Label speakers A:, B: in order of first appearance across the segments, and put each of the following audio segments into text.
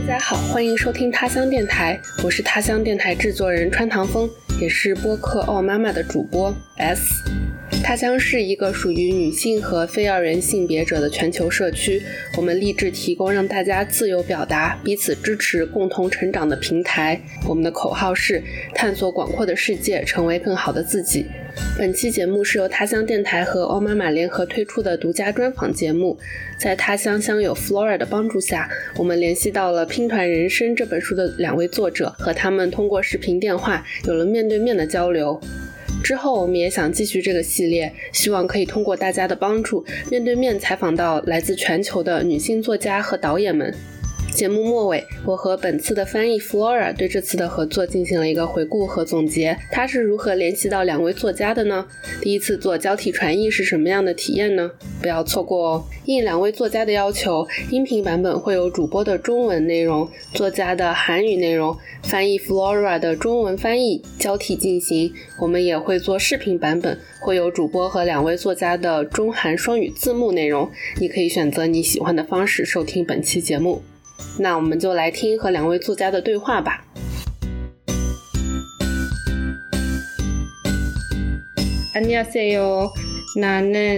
A: 大家好，欢迎收听他乡电台，我是他乡电台制作人川唐风，也是播客奥妈妈的主播 S。 他乡是一个属于女性和非二元性别者的全球社区，我们立志提供让大家自由表达、彼此支持、共同成长的平台。我们的口号是探索广阔的世界，成为更好的自己。本期节目是由他乡电台和奥妈妈联合推出的独家专访节目。在他乡乡友 Flora 的帮助下，我们联系到了《拼团人生》这本书的2位作者，和他们通过视频电话有了面对面的交流。之后我们也想继续这个系列，希望可以通过大家的帮助，面对面采访到来自全球的女性作家和导演们。节目末尾，我和本次的翻译 Flora 对这次的合作进行了一个回顾和总结。她是如何联系到2位作家的呢？第一次做交替传译是什么样的体验呢？不要错过哦！应2位作家的要求，音频版本会有主播的中文内容、作家的韩语内容，翻译 Flora 的中文翻译交替进行。我们也会做视频版本，会有主播和2位作家的中韩双语字幕内容。你可以选择你喜欢的方式收听本期节目。那我们就来听和2位作家的对话吧。안녕하세요. 나는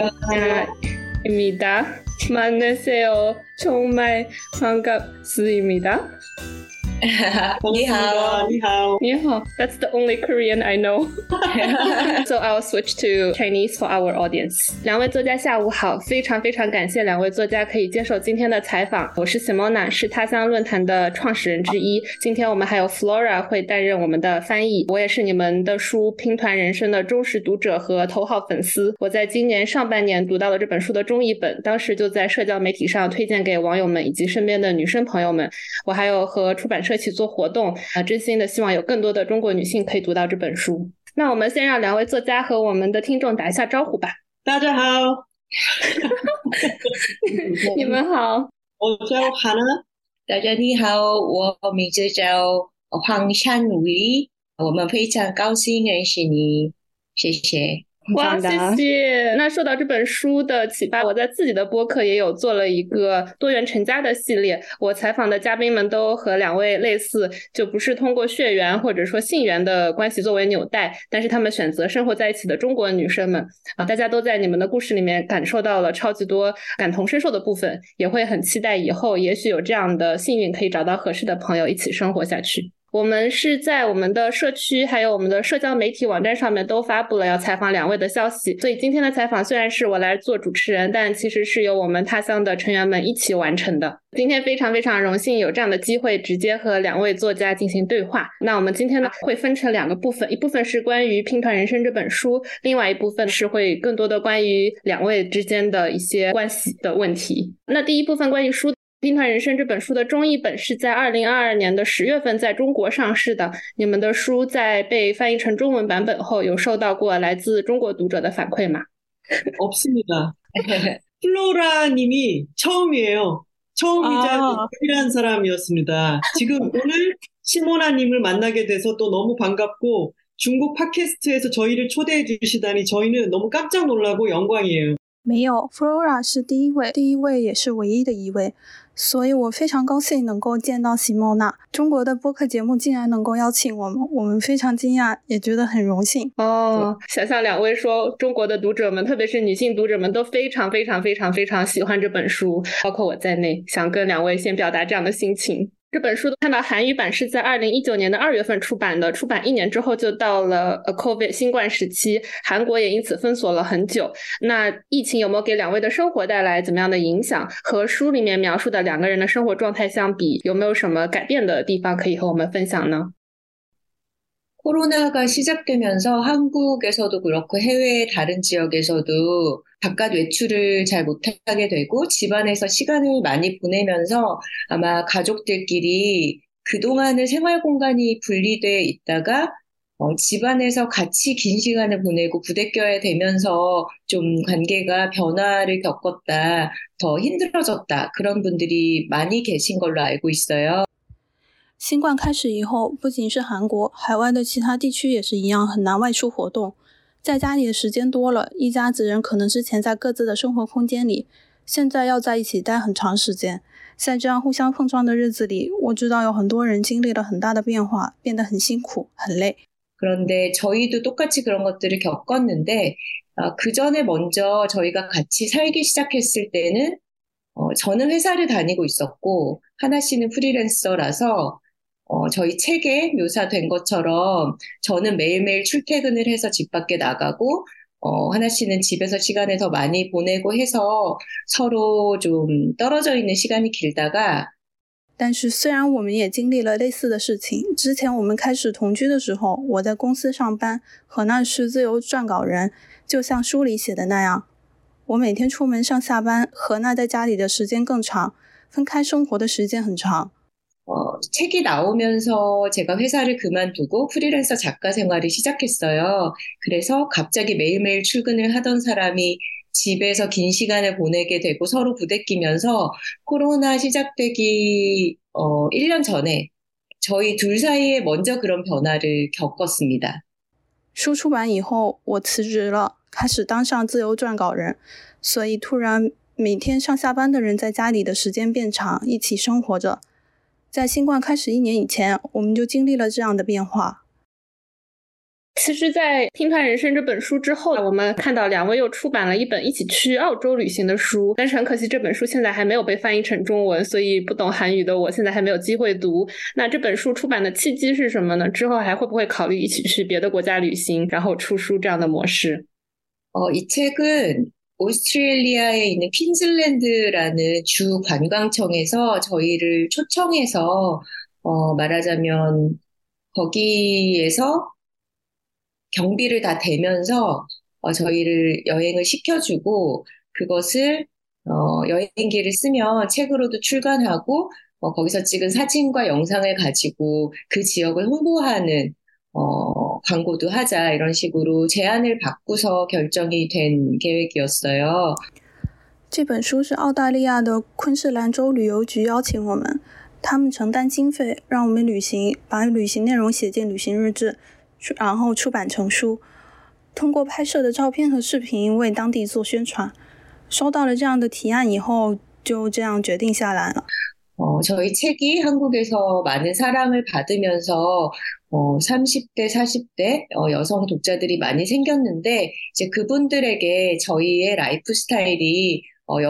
A: 입니다. 만나세요. 정말 반갑습니다.
B: 你好，
C: 你好，
A: 你好 That's the only Korean I know. So I'll switch to Chinese for our audience. 2位作家下午好，非常非常感谢2位作家可以接受今天的采访。我是 Simona， 是他乡论坛的创始人之一。今天我们还有 Flora 会担任我们的翻译。我也是你们的书《拼团人生》的忠实读者和头号粉丝。我在今年上半年读到了这本书的中译本，当时就在社交媒体上推荐给网友们以及身边的女生朋友们。我还有和出版社一起做活动，真心的希望有更多的中国女性可以读到这本书。那我们先让2位作家和我们的听众打一下招呼吧。
C: 大家好。
A: 你们好。
C: 我叫 Hannah。
B: 大家你好，我名字叫黄善伟，我们非常高兴认识你，谢谢。
A: 哇，谢谢。那受到这本书的启发，我在自己的播客也有做了一个多元成家的系列。我采访的嘉宾们都和2位类似，就不是通过血缘或者说性缘的关系作为纽带，但是他们选择生活在一起的中国女生们大家都在你们的故事里面感受到了超级多感同身受的部分，也会很期待以后也许有这样的幸运可以找到合适的朋友一起生活下去。我们是在我们的社区还有我们的社交媒体网站上面都发布了要采访2位的消息，所以今天的采访虽然是我来做主持人，但其实是由我们他乡的成员们一起完成的。今天非常非常荣幸有这样的机会直接和2位作家进行对话。那我们今天呢会分成2个部分，一部分是关于《拼团人生》这本书，另外一部分是会更多的关于2位之间的一些关系的问题。那第一部分关于书，《拼团人生》这本书的中译本是在2022年的10月份在中国上市的。你们的书在被翻译成中文版本后，有收到过来自中国读者的反馈吗？
C: 없습니다. 플로라 님이 처음이에요. 처음이자 유일한 사람이었습니다. 지금 오늘 시모나 님을 만나게 돼서 또 너무 반갑고, 중국 팟캐스트에서 저희를 초대해 주시다니 저희는 너무 깜짝 놀라고 영광이에요.
D: 没有 Flora 是第一位也是唯一的一位，所以我非常高兴能够见到席莫娜。中国的播客节目竟然能够邀请我们非常惊讶，也觉得很荣幸。
A: 想象2位说中国的读者们，特别是女性读者们都非常非常非常非常喜欢这本书，包括我在内，想跟2位先表达这样的心情。这本书看到韩语版是在2019年的2月份出版的，出版1年之后就到了COVID 新冠时期，韩国也因此封锁了很久。那疫情有没有给2位的生活带来怎么样的影响？和书里面描述的2个人的生活状态相比，有没有什么改变的地方可以和我们分享呢？
B: 코로나가 시작되면서 한국에서도 그렇고 해외 다른 지역에서도 바깥 외출을 잘 못하게 되고 집안에서 시간을 많이 보내면서 아마 가족들끼리 그동안은 생활 공간이 분리돼 있다가 집안에서 같이 긴 시간을 보내고 부대껴야 되면서 좀 관계가 변화를 겪었다, 더 힘들어졌다, 그런 분들이 많이 계신 걸로 알고 있어요.
D: 新冠开始以后，不仅是韩国，海外的其他地区也是一样，很难外出活动。在家里的时间多了，一家子人可能之前在各自的生活空间里，现在要在一起待很长时间。 在这样互相碰撞的日子里，我知道有很多人经历了很大的变化，变得很辛苦，很累。
B: 그런데 저희도 똑같이 그런 것들을 겪었는데 그 전에 먼저 저희가 같이 살기 시작했을 때는 저는 회사를 다니고 있었고 하나 씨는 프리랜서라서 저희 책에 묘사된 것처럼 저는 매일매일 출퇴근을 해서 집 밖에 나가고 하나 씨는 집에서 시간을 더 많이 보내고 해서 서로 좀 떨어져 있는 시간이 길다가
D: 但是虽然我们也经历了类似的事情，之前我们开始同居的时候，我在公司上班，何娜是自由撰稿人，就像书里写的那样，我每天出门上下班，何娜在家里的时间更长，分开生活的时间很长。
B: 책이 나오면서 제가 회사를 그만두고 프리랜서 작가 생활을 시작했어요. 그래서 갑자기 매일매일 출근을 하던 사람이 집에서 긴 시간을 보내게 되고 서로 부대끼면서 코로나 시작되기 1년 전에 저희 둘 사이에 먼저 그런 변화를 겪었습니다.
D: 书出版以后，我辞职了，开始当上自由撰稿人，所以突然每天上下班的人在家里的时间变长，一起生活着。在新冠开始1年以前，我们就经历了这样的变化。
A: 其实在《拼团人生》这本书之后，我们看到2位又出版了一本一起去澳洲旅行的书，但是很可惜这本书现在还没有被翻译成中文，所以不懂韩语的我现在还没有机会读。那这本书出版的契机是什么呢？之后还会不会考虑一起去别的国家旅行，然后出书这样的模式？
B: 이 책은 오스트레일리아에 있는 퀸즐랜드라는 주 관광청에서 저희를 초청해서 말하자면 거기에서 경비를 다 대면서 저희를 여행을 시켜주고 그것을 여행기를 쓰면 책으로도 출간하고 거기서 찍은 사진과 영상을 가지고 그 지역을 홍보하는 광고도 하자 이런 식으로 제안을 받고서 결정이 된 계획이었어요.
D: 这本书是澳大利亚的昆士兰州旅游局邀请我们，他们承担经费，让我们旅行，把旅行内容写进旅行日志，然后出版成书。通过拍摄的照片和视频为当地做宣传。收到了这样的提案以后，就这样决定下来了。
B: 저희 책이 한국에서 많은 사랑을 받으면서 30대, 40대 여성 독자들이 많이 생겼는데 이제 그분들에게 저희의 라이프 스타일이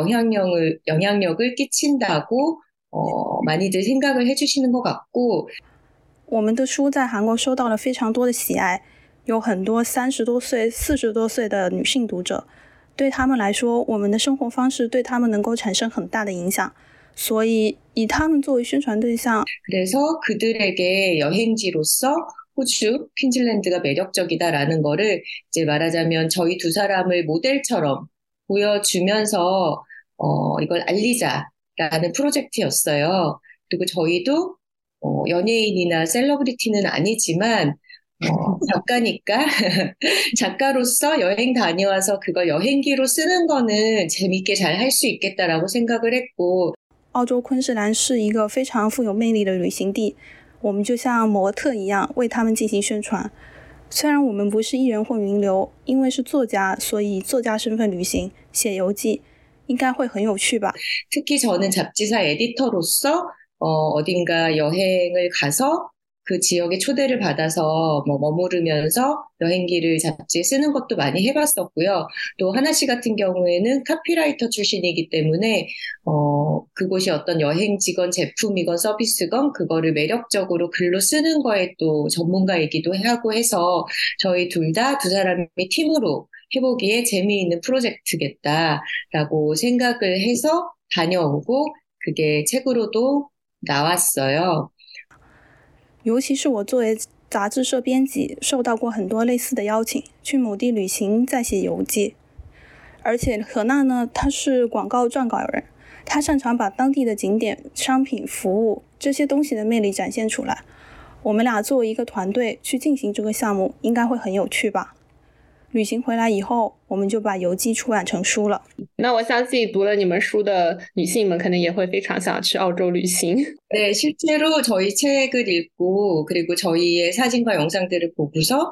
B: 영향력을 끼친다고 많이들 생각을 해주시는 것 같고
D: 我们的书在韩国受到了非常多的喜爱，有很多30多岁、40多岁的女性读者，对他们来说，我们的生活方式对他们能够产生很大的影响。 所以以他们作为宣传对象。
B: 그래서 그들에게 여행지로서 호주, 퀸즐랜드가 매력적이다라는 거를 이제 말하자면 저희 두 사람을 모델처럼 보여주면서 이걸 알리자라는 프로젝트였어요. 그리고 저희도 연예인이나 셀러브리티는 아니지만 작가니까 작가로서 여행 다녀와서 그걸 여행기로 쓰는 거는 재밌게 잘 할 수 있겠다라고 생각을 했고
D: 澳洲昆士兰是一个非常富有魅力的旅行地，我们就像模特一样为他们进行宣传。虽然我们不是艺人或名流，因为是作家，所以作家身份旅行，写游记，应该会很有趣吧。
B: 특히 저는 잡지사 에디터로서 어딘가 여행을 가서 그 지역에 초대를 받아서 머무르면서 여행기를 잡지에 쓰는 것도 많이 해봤었고요. 또 하나 씨 같은 경우에는 카피라이터 출신이기 때문에 그곳이 어떤 여행지건 제품이건 서비스건 그거를 매력적으로 글로 쓰는 거에 또 전문가이기도 하고 해서 저희 둘 다 두 사람이 팀으로 해보기에 재미있는 프로젝트겠다라고 생각을 해서 다녀오고 그게 책으로도 나왔어요.
D: 尤其是我作为杂志社编辑，受到过很多类似的邀请，去某地旅行再写游记。而且何娜呢，她是广告撰稿人，她擅长把当地的景点、商品、服务这些东西的魅力展现出来。我们俩作为一个团队去进行这个项目，应该会很有趣吧。旅行回来以后，我们就把游记出版成书了。
A: 那我相信读了你们书的女性们，可能也会非常想去澳洲旅行。
B: 네, 실제로 저희 책을 읽고 그리고 저희의 사진과 영상들을 보고서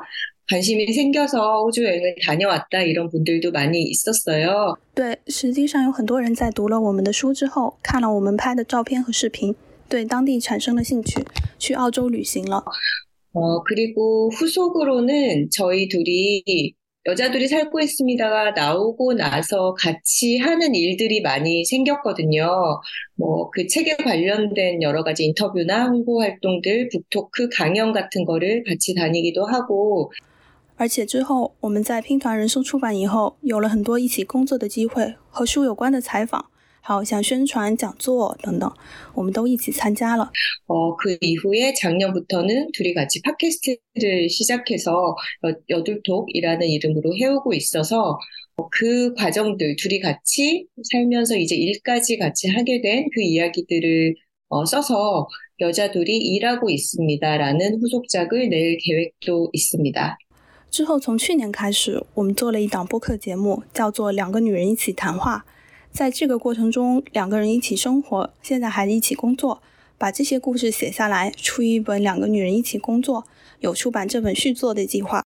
B: 관심이 생겨서 호주 여행을 다녀왔다 이런 분들도 많이 있었어요.
D: 对，实际上有很多人在读了我们的书之后，看了我们拍的照片和视频，对当地产生了兴趣，去澳洲旅行了。
B: 그리고 후속으로는 저희 둘이 여자들이 살고 있습니다가 나오고 나서 같이 하는 일들이 많이 생겼거든요. 그 책에 관련된 여러 가지 인터뷰나 홍보 활동들, 북토크 강연 같은 거를 같이 다니기도 하고.
D: 而且之后我们在拼团人生出版以后，有了很多一起工作的机会，和书有关的采访，还有像宣传、讲座等等，我们都一起参加了。
B: 그 이후에 작년부터는 둘이 같이 팟캐스트를 시작해서 여둘톡이라는 이름으로 해오고 있어서 그 과정들 둘이 같이 살면서 이제 일까지 같이 하게 된 그 이야기들을 써서 여자둘이 일하고 있습니다라는 후속작을 낼 계획도 있습니다.
D: 之后从去年开始，我们做了一档播客节目，叫做《两个女人一起谈话》。在这个过程中，两个人一起生活，现在还一起工作，把这些故事写下来，出一本《两个女人一起工作》，有出版这本续作的计划。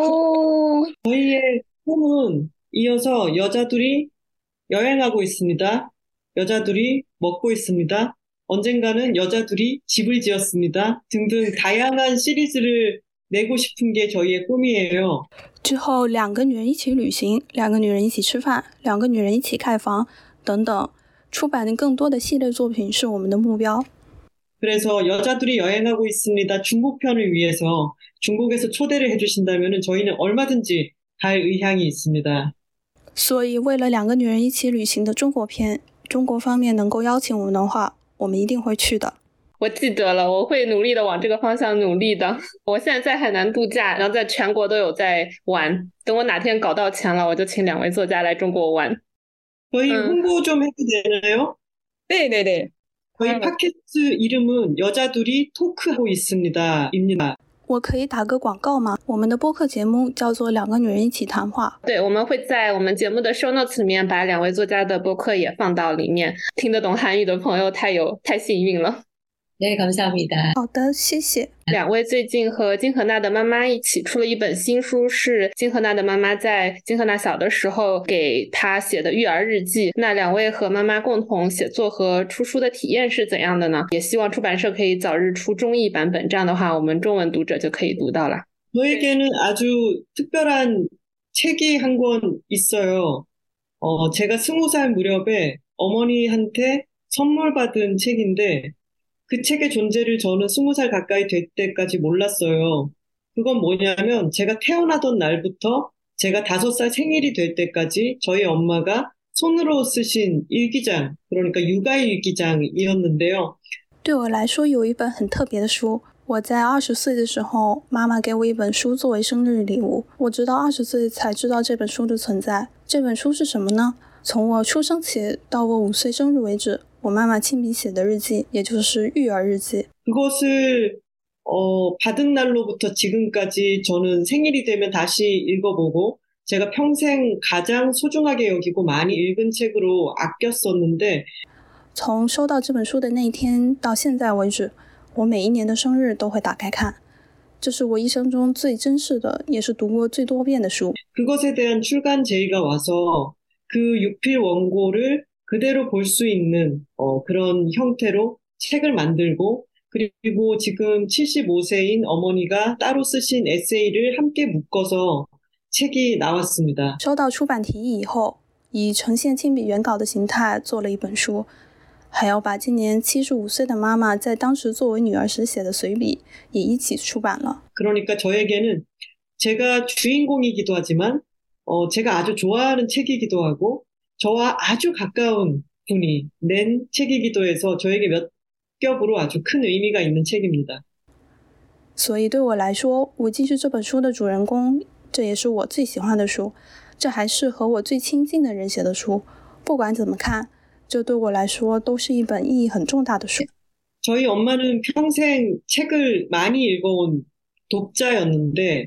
C: 저희의 꿈은 이어서 여자들이 여행하고 있습니다. 여자들이 먹고 있습니다. 언젠가는 여자들이 집을 지었습니다. 등등 다양한 시리즈를 내고 싶은 게 저희의 꿈이에요.
D: 之后两个女人一起旅行，两个女人一起吃饭，两个女人一起盖房等等，出版的更多的系列作品是我们的目标。
C: 그래서 여자들이 여행하고 있습니다. 중국편을 위해서 중국에서 초대를 해주신다면 저희는 얼마든지 갈 의향이 있습니다.
D: 所以为了两个女人一起旅行的中国篇，中国方面能够邀请我们的话，我们一定会去的。
A: 我记得了，我会努力的往这个方向努力的。我现在在海南度假，然后在全国都有在玩。等我哪天搞到钱了，我就请两位作家来中国玩。
C: 저희 홍보 좀 해도 되나요?
B: 네네네.
C: 저희 팟캐스트 이름은 여자들이 토크하고 있습니다.입니다.
D: 我可以打个广告吗？我们的播客节目叫做《两个女人一起谈话》。
A: 对，我们会在我们节目的 show notes 里面把两位作家的播客也放到里面。听得懂韩语的朋友太幸运了。
B: 네, 감사합니다.
D: 好的，谢谢。
A: 两位最近和金荷娜的妈妈一起出了一本新书，是金荷娜的妈妈在金荷娜小的时候给她写的育儿日记。那两位和妈妈共同写作和出书的体验是怎样的呢？也希望出版社可以早日出中译版本，这样的话我们中文读者就可以读到了。
C: 저에게는 아주 특별한 책이 한 권 있어요. 제가 20살 무렵에 어머니한테 선물 받은 책인데 그 책의 존재를 저는 20살 가까이 될 때까지 몰랐어요. 그건 뭐냐면 제가 태어나던 날부터 제가 5살 생일이 될 때까지 저희 엄마가 손으로 쓰신 일기장, 그러니까 육아일기장이었는데요.
D: 对我来说有一本很特别的书，我在20岁的时候，妈妈给我一本书作为生日礼物，我直到20岁才知道这本书的存在。这本书是什么呢？从我出生起到我5岁生日为止，我妈妈亲笔写的日记，也就是育儿日记。
C: 그것을 받은 날로부터 지금까지 저는 생일이 되면 다시 읽어보고 제가 평생 가장 소중하게 여기고 많이 읽은 책으로 아꼈었는데
D: 从收到这本书的那一天到现在为止，我每一年的生日都会打开看，这是我一生中最珍视的，也是读过最多遍的书。
C: 그것에 대한 출간 제의가 와서 그 육필 원고를 그대로 볼 수 있는 그런 형태로 책을 만들고 그리고 지금 75세인 어머니가 따로 쓰신 에세이를 함께 묶어서 책이 나왔습니다.
D: 收到出版提议以后，以呈现亲笔原稿的形态做了一本书，还要把今年75岁的妈妈在当时作为女儿时写的随笔也一起出版了。
C: 그러니까 저에게는 제가 주인공이기도 하지만 제가 아주 좋아하는 책이기도 하고 저와 아주 가까운 분이 낸 책이기도 해서 저에게 몇 겹으로 아주 큰 의미가 있는 책입니다.
D: 所以对我来说，我既是这本书的主人公，这也是我最喜欢的书，这还是和我最亲近的人写的书。不管怎么看，这对我来说都是一本意义很重大的书。
C: 저희 엄마는 평생 책을 많이 읽어온 독자였는데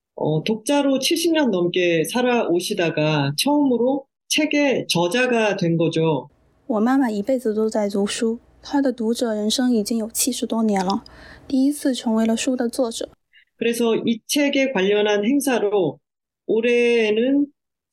C: 독자로 70년 넘게 살아오시다가 처음으로 책의 저자가 된 거죠.
D: 我妈妈一辈子都在读书，她的读者人生已经有70多年了，第一次成为了书的作者。
C: 그래서 이 책에 관련한 행사로 올해에는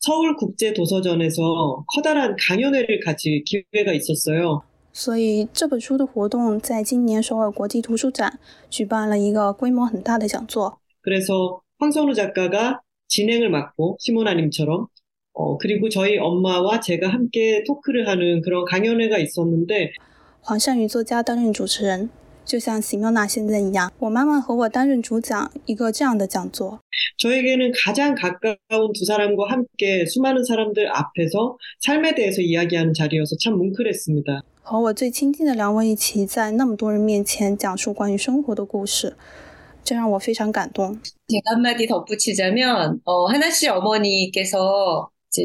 C: 서울국제도서전에서 커다란 강연회를 가질 기회가 있었어요.
D: 所以这本书的活动在今年首尔国际图书展举办了一个规模很大的讲座。
C: 그래서 황선우 작가가 진행을 맡고 시모나님처럼 그리고 저희 엄마와 제가 함께 토크를 하는 그런 강연회가 있었는데
D: 黄善宇作家担任主持人，就像席妙娜现在一样，我妈妈和我担任主讲一个这样的讲座。
C: 저에게는 가장 가까운 두 사람과 함께 수많은 사람들 앞에서 삶에 대해서 이야기하는 자리여서 참 뭉클했습니다.
D: 和我最亲近的两位一起在那么多人面前讲述关于生活的故事，这让我非常感动。
B: 제가 한마디 덧붙이자면 하나씨 어머니께서 이제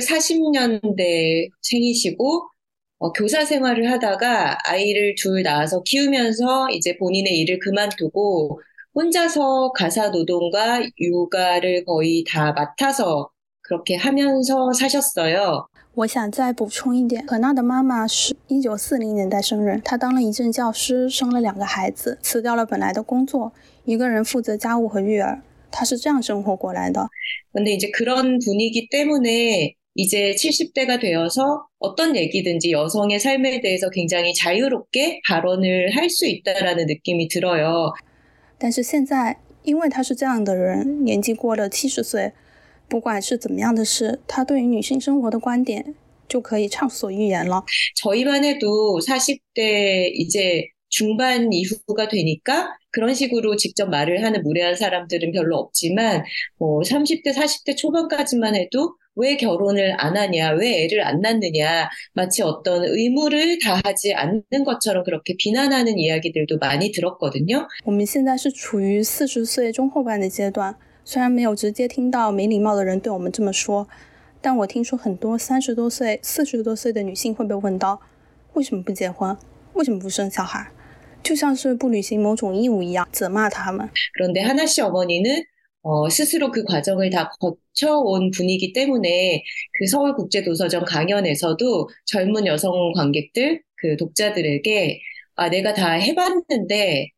B: 1940년대 생이시고 교사 생활을 하다가 아이를 둘 낳아서 키우면서 이제 본인의 일을 그만두고 혼자서 가사 노동과 육아를 거의 다 맡아서 그렇게 하면서 사셨어요.
D: 我想再补充一点，可娜的妈妈是1940年代生人，她当了一阵教师，生了2个孩子，辞掉了本来的工作，一个人负责家务和育儿，她是这样生活过来的。
B: 근데 이제 그런 분위기 때문에 이제 70대가 되어서 어떤 얘기든지 여성의 삶에 대해서 굉장히 자유롭게 발언을 할 수 있다라는 느낌이 들어요.
D: 但是现在，因为她是这样的人，年纪过了70岁，不管是怎么样的事，她对于女性生活的观点就可以畅所欲言了。
B: 저희만 해도 40대 이제 중반 이후가 되니까 그런 식으로 직접 말을 하는 무례한 사람들은 별로 없지만 30대, 40대 초반까지만 해도 왜 결혼을 안 하냐, 왜 애를 안 낳느냐, 마치 어떤 의무를 다하지 않는 것처럼 그렇게 비난하는 이야기들도 많이 들었거든요.
D: 我们现在是处于40岁中后半的阶段，虽然没有直接听到没礼貌的人对我们这么说，但我听说很多30多岁、40多岁的女性会被问到，为什么不结婚？为什么不生小孩？就像是不履行某种义务一样，责骂他们。
B: 그런데 하나씨 어머니는 스스로 그 과정을 다 거쳐온 분이기 때문에 그 서울국제도서전 강연에서도 젊은 여성 관객들, 그 독자들에게 내가 다 해봤는데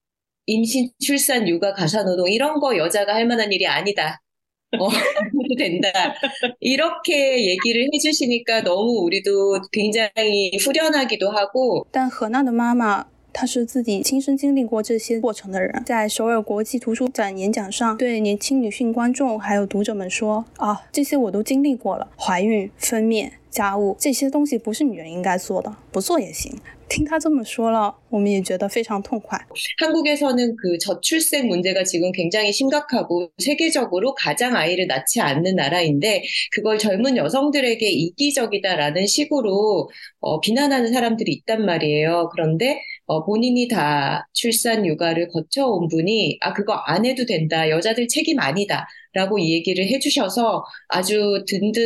B: 임신, 출산, 육아, 가사노동 이런 거 여자가 할 만한 일이 아니다. 해도 된다. 이렇게 얘기를 해주시니까 너무 우리도 굉장히 후련하기도 하고.
D: 但何娜的妈妈她是自己亲身经历过这些过程的人，在首尔国际图书展演讲上对年轻女性观众还有读者们说这些我都经历过了，怀孕、分娩、家务这些东西不是女人应该做的，不做也行。听她这么说了，我们也觉得非常痛快。
B: 한국에서는 그 저출생 문제가 지금 굉장히 심각하고 세계적으로 가장 아이를 낳지 않는 나라인데 그걸 젊은 여성들에게 이기적이다라는 식으로 비난하는 사람들이 있단 말이에요. 그런데 본인이 다 출산 육아를 거쳐온 분이 그거 안 해도 된다. 여자들 책임 아니다. 라고 이 얘기를 해주셔서 아주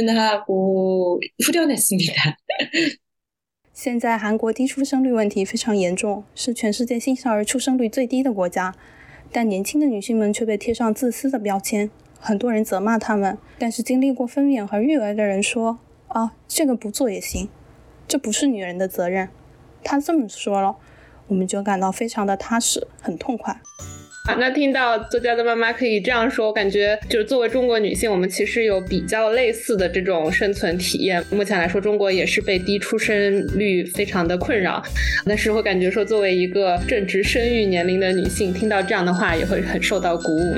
B: 든든하고 후련했습니다.
D: 现在韩国低出生率问题非常严重，是全世界新生儿出生率最低的国家，但年轻的女性们却被贴上自私的标签，很多人责骂她们，但是经历过分娩和育儿的人说这个不做也行，这不是女人的责任。她这么说了，我们就感到非常的踏实，很痛快。
A: 那听到作家的妈妈可以这样说，我感觉就是作为中国女性，我们其实有比较类似的这种生存体验。目前来说，中国也是被低出生率非常的困扰，但是会感觉说，作为一个正值生育年龄的女性，听到这样的话也会很受到鼓舞。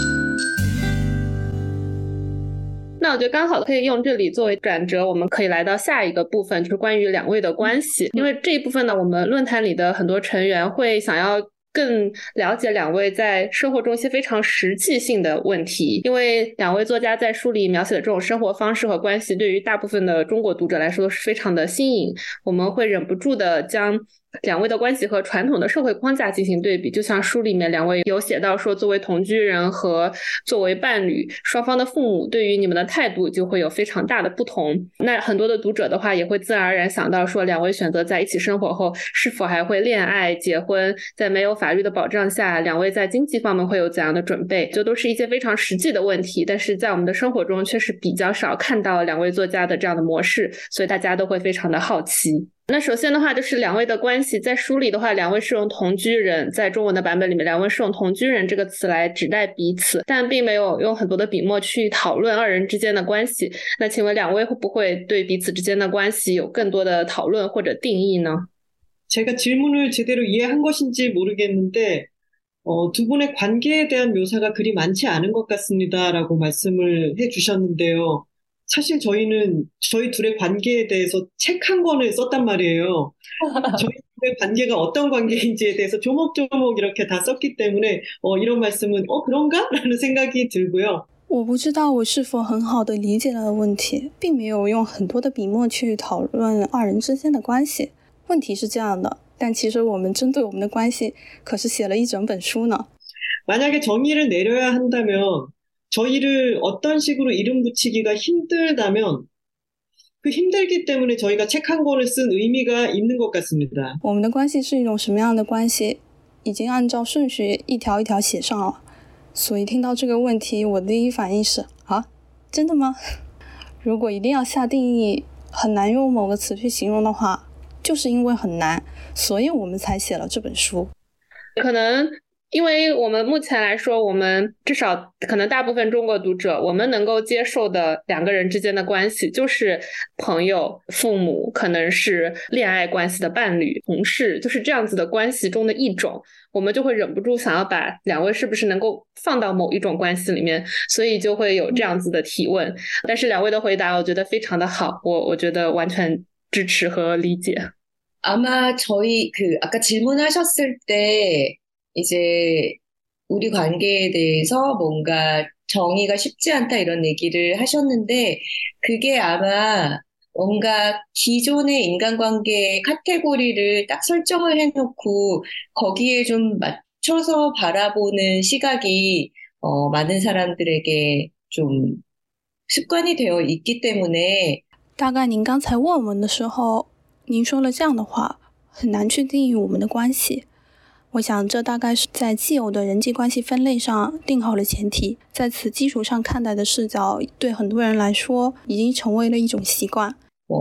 A: 那我觉得刚好可以用这里作为转折，我们可以来到下一个部分，就是关于两位的关系。因为这一部分呢，我们论坛里的很多成员会想要更了解两位在生活中一些非常实际性的问题，因为两位作家在书里描写的这种生活方式和关系，对于大部分的中国读者来说是非常的新颖，我们会忍不住的将两位的关系和传统的社会框架进行对比，就像书里面两位有写到说，作为同居人和作为伴侣，双方的父母对于你们的态度就会有非常大的不同。那很多的读者的话也会自然而然想到说，两位选择在一起生活后是否还会恋爱结婚，在没有法律的保障下，两位在经济方面会有怎样的准备，这都是一些非常实际的问题，但是在我们的生活中却是比较少看到两位作家的这样的模式，所以大家都会非常的好奇。 那首先的话就是两位的关系，在书里的话，两位是用同居人，在中文的版本里面，两位是用同居人这个词来指代彼此，但并没有用很多的笔墨去讨论二人之间的关系。那请问两位会不会对彼此之间的关系有更多的讨论或者定义呢？
C: 제가 질문을 제대로 이해한 것인지 모르겠는데 두 분의 관계에 대한 묘사가 그리 많지 않은 것 같습니다라고 말씀을 해주셨는데요. 사실 저희는 저희 둘의 관계에 대해서 책 한 권을 썼단 말이에요. 저희 둘의 관계가 어떤 관계인지에 대해서 조목조목 이렇게 다 썼기 때문에 이런 말씀은 그런가? 라는 생각이 들고요.
D: 我不知道我是否很好的理解了问题，并没有用很多的笔墨去讨论二人之间的关系。问题是这样的，但其实我们针对我们的关系可是写了一整本书呢。
C: 만약에 정의를 내려야 한다면 저희를 어떤 식으로 이름 붙이기가 힘들다면 그 힘들기 때문에 저희가 책 한 권을 쓴 의미가 있는 것 같습니다.
D: 我们的关系是一种什么样的关系，已经按照顺序一条一条写上了。所以听到这个问题，我的第一反应是啊，真的吗？如果一定要下定义，很难用某个词去形容的话，就是因为很难，所以我们才写了这本书。
A: 可能因为我们目前来说，我们至少可能大部分中国读者，我们能够接受的两个人之间的关系就是朋友、父母，可能是恋爱关系的伴侣、同事，就是这样子的关系中的一种，我们就会忍不住想要把两位是不是能够放到某一种关系里面，所以就会有这样子的提问。但是两位的回答我觉得非常的好，我觉得完全支持和理解。
B: 아마 저희 아까 질문하셨을 때 이제 우리 관계에 대해서 뭔가 정의가 쉽지 않다 이런 얘기를 하셨는데 그게 아마 뭔가 기존의 인간관계의 카테고리를 딱 설정을 해놓고 거기에 좀 맞춰서 바라보는 시각이 많은 사람들에게 좀 습관이 되어 있기 때문에
D: 大概您刚才问我们的时候，您说了这样的话，很难去定义我们的关系。我想这大概是在既有的人际关系分类上定好了前提，在此基础上看待的视角，对很多人来说已经成为了一种习惯。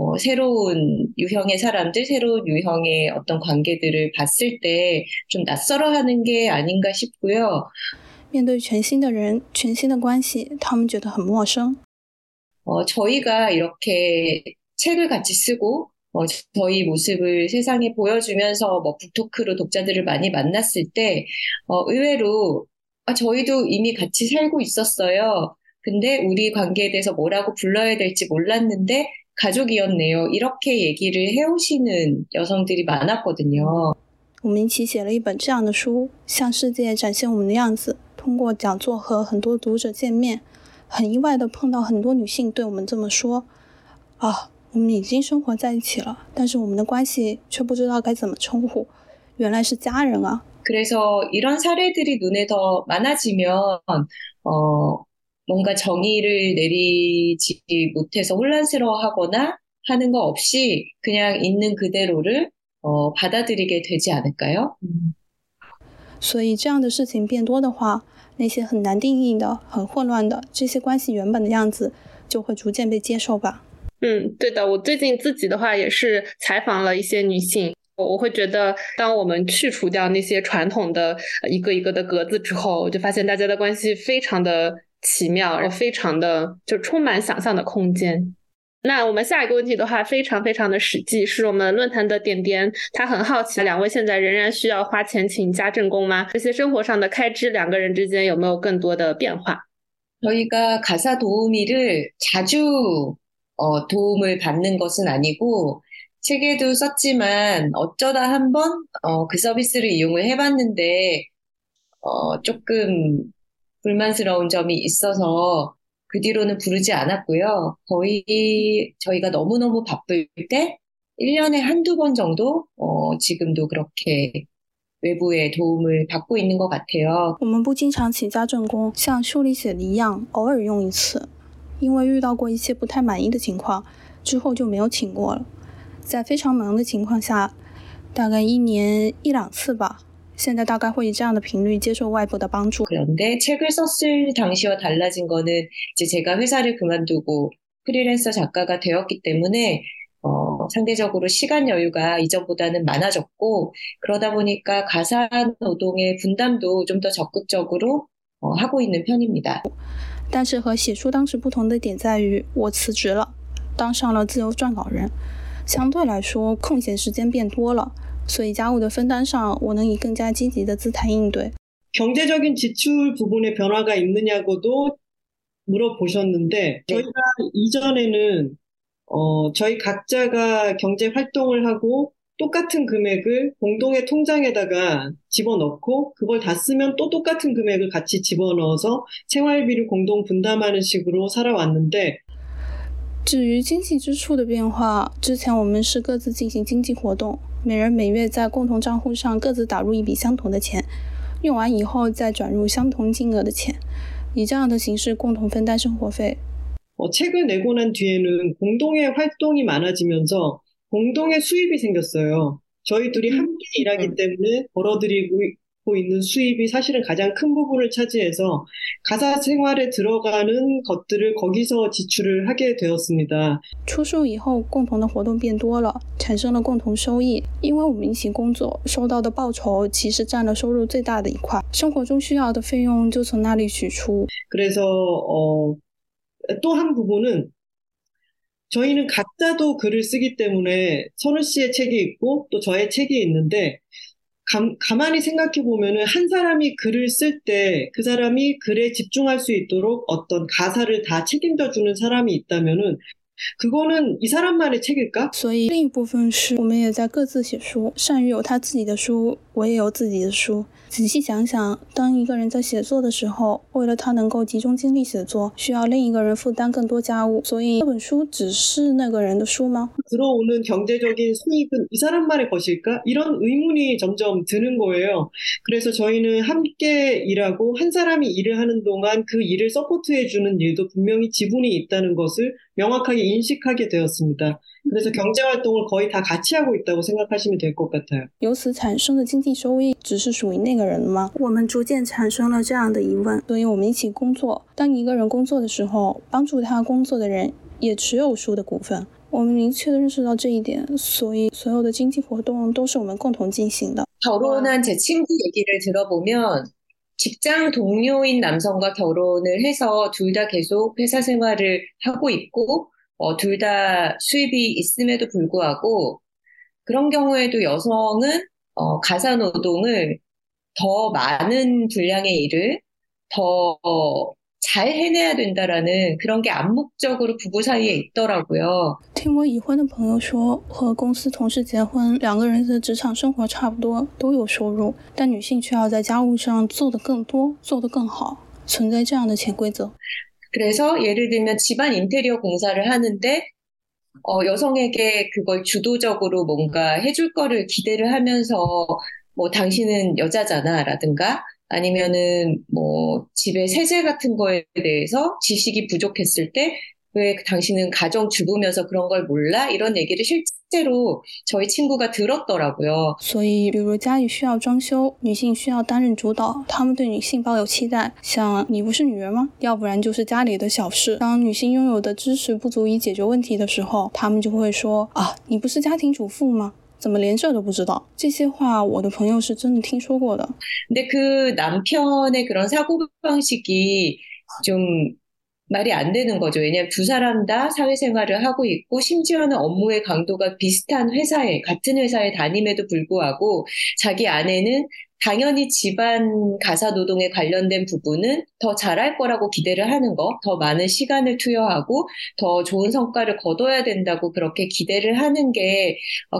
B: 새로운 유형의 사람들, 새로운 유형의 어떤 관계들을 봤을 때 좀 낯설어하는 게 아닌가 싶고요.
D: 面对全新的人、全新的关系，他们觉得很陌生。
B: 저희가 이렇게 책을 같이 쓰고 저희 모습을 세상에 보여주면서 북토크로 독자들을 많이 만났을 때 의외로 저희도 이미 같이 살고 있었어요. 근데 우리 관계에 대해서 뭐라고 불러야 될지 몰랐는데 가족이었네요. 이렇게 얘기를 해오시는 여성들이 많았거든요.
D: 我们一起写了一本这样的书，向世界展现我们的样子。通过讲座和很多读者见面，很意外的碰到很多女性对我们这么说：啊，我们已经生活在一起了，但是我们的关系却不知道该怎么称呼，原来是家人啊。
B: 그래서 이런 사례들이 눈에 더 많아지면 뭔가 정의를 내리지 못해서 혼란스러워하거나 하는 거 없이 그냥 있는 그대로를 받아들이게 되지 않을까요?
D: 所以这样的事情变多的话，那些很难定义的、很混乱的这些关系原本的样子，就会逐渐被接受吧。
A: 对的，我最近自己的话也是采访了一些女性，我会觉得当我们去除掉那些传统的一个一个的格子之后，我就发现大家的关系非常的奇妙，非常的就充满想象的空间。那我们下一个问题的话非常非常的实际，是我们论坛的点点，他很好奇两位现在仍然需要花钱请家政工吗？这些生活上的开支两个人之间有没有更多的变化？
B: 저희가 가사 도우미를 자주 도움을 받는 것은 아니고 책에도 썼지만 어쩌다 한번 그 서비스를 이용을 해봤는데 조금 불만스러운 점이 있어서 그 뒤로는 부르지 않았고요. 거의 저희가 너무너무 바쁠 때 1년에 한두 번 정도 지금도 그렇게 외부의 도움을 받고 있는 것 같아요.
D: 我们不经常请家政工，像书里写的一样，偶尔用一次。因为遇到过一些不太满意的情况，之后就没有请过了。在非常忙的情况下，大概1年1-2次吧。现在大概会以这样的频率接受外部的帮助。
B: 그런데 책을 썼을 당시와 달라진 거는 이제 제가 회사를 그만두고 프리랜서 작가가 되었기 때문에 상대적으로 시간 여유가 이전보다는 많아졌고 그러다 보니까 가사 노동의 분담도 좀 더 적극적으로 하고 있는 편입니다.
D: 但是和写书当时不同的点在于，我辞职了，当上了自由撰稿人，相对来说空闲时间变多了，所以家务的分担上，我能以更加积极的姿态应对。
C: 경제적인 지출 부분에 변화가 있느냐고도 물어보셨는데 저희가 이전에는 저희 각자가 경제 활동을 하고 똑같은 금액을 공동의 통장에다가 집어넣고 그걸 다 쓰면 또 똑같은 금액을 같이 집어넣어서 생활비를 공동 분담하는 식으로 살아왔는데
D: 至于经济支出的变化，之前我们是各自进行经济活动，每人每月在共同账户上各自打入一笔相同的钱，用完以后再转入相同金额的钱，以这样的形式共同分担生活费。
C: 책을 내고 난 뒤에는 공동의 활동이 많아지면서 공동의 수입이 생겼어요. 저희 둘이 함께 일하기 때문에 벌어들이고 있는 수입이 사실은 가장 큰 부분을 차지해서 가사 생활에 들어가는 것들을 거기서 지출을 하게 되었습니다.
D: 出书以后，共同的活动变多了，产生了共同收益。因为我们一起工作，收到的报酬其实占了收入最大的一块，生活中需要的费用就从那里取出。
C: 그래서 또 한 부분은 저희는 각자도 글을 쓰기 때문에 선우 씨의 책이 있고 또 저의 책이 있는데 가만히 생각해 보면은 한 사람이 글을 쓸 때 그 사람이 글에 집중할 수 있도록 어떤 가사를 다 책임져 주는 사람이 있다면은 그거는 이 사람만의 책일까?
D: 所以另一部分是我们也在各自写书，善于有他自己的书，我也有自己的书。仔细想想，当一个人在写作的时候，为了他能够集中精力写作，需要另一个人负担更多家务，所以这本书只是那个人的书吗？
C: 들어오는 경제적인 수익은 이 사람만의 것일까? 이런 의문이 점점 드는 거예요. 그래서 저희는 함께 일하고 한 사람이 일을 하는 동안 그 일을 서포트해주는 일도 분명히 지분이 있다는 것을 명확하게 인식하게 되었습니다. 그래서 경제활동을 거의 다 같이 하고 있다고 생각하시면 될 것 같아요.
D: 由此产生的经济收益只是属于那个人的吗？我们逐渐产生了这样的疑问，所以我们一起工作。当一个人工作的时候，帮助他工作的人也持有书的股份。我们明确地认识到这一点，所以所有的经济活动都是我们共同进行的。
B: 결혼한 제 친구 얘기를 들어보면 직장 동료인 남성과 결혼을 해서 둘 다 계속 회사 생활을 하고 있고 둘 다 수입이 있음에도 불구하고 그런 경우에도 여성은 가사 노동을 더 많은 분량의 일을 더 잘 해내야 된다라는 그런 게 암묵적으로 부부 사이에 있더라고요.
D: 听我已婚的朋友说，和公司同事结婚，两个人的职场生活差不多，都有收入，但女性却要在家务上做得更多，做得更好，存在这样的潜规则。
B: 그래서 예를 들면 집안 인테리어 공사를 하는데 여성에게 그걸 주도적으로 뭔가 해줄 거를 기대를 하면서 뭐 당신은 여자잖아라든가 아니면은 뭐 집에 세제 같은 거에 대해서 지식이 부족했을 때 왜 당신은 가정주부면서 그런 걸 몰라? 이런 얘기를 실제로 저희 친구가 들었더라고요.
D: 所以，比如家里需要装修，女性需要担任主导，他们对女性抱有期待，像你不是女人吗？要不然就是家里的小事。当女性拥有的知识不足以解决问题的时候，他们就会说啊，你不是家庭主妇吗？怎么连这都不知道？这些话我的朋友是真的听说过的。
B: 근데 그 남편의 그런 사고방식이 좀 말이 안 되는 거죠. 왜냐하면 두 사람 다 사회생활을 하고 있고 심지어는 업무의 강도가 비슷한 회사에 같은 회사에 다님에도 불구하고 자기 아내는 당연히 집안 가사 노동에 관련된 부분은 더 잘할 거라고 기대를 하는 거, 더 많은 시간을 투여하고 더 좋은 성과를 거둬야 된다고 그렇게 기대를 하는 게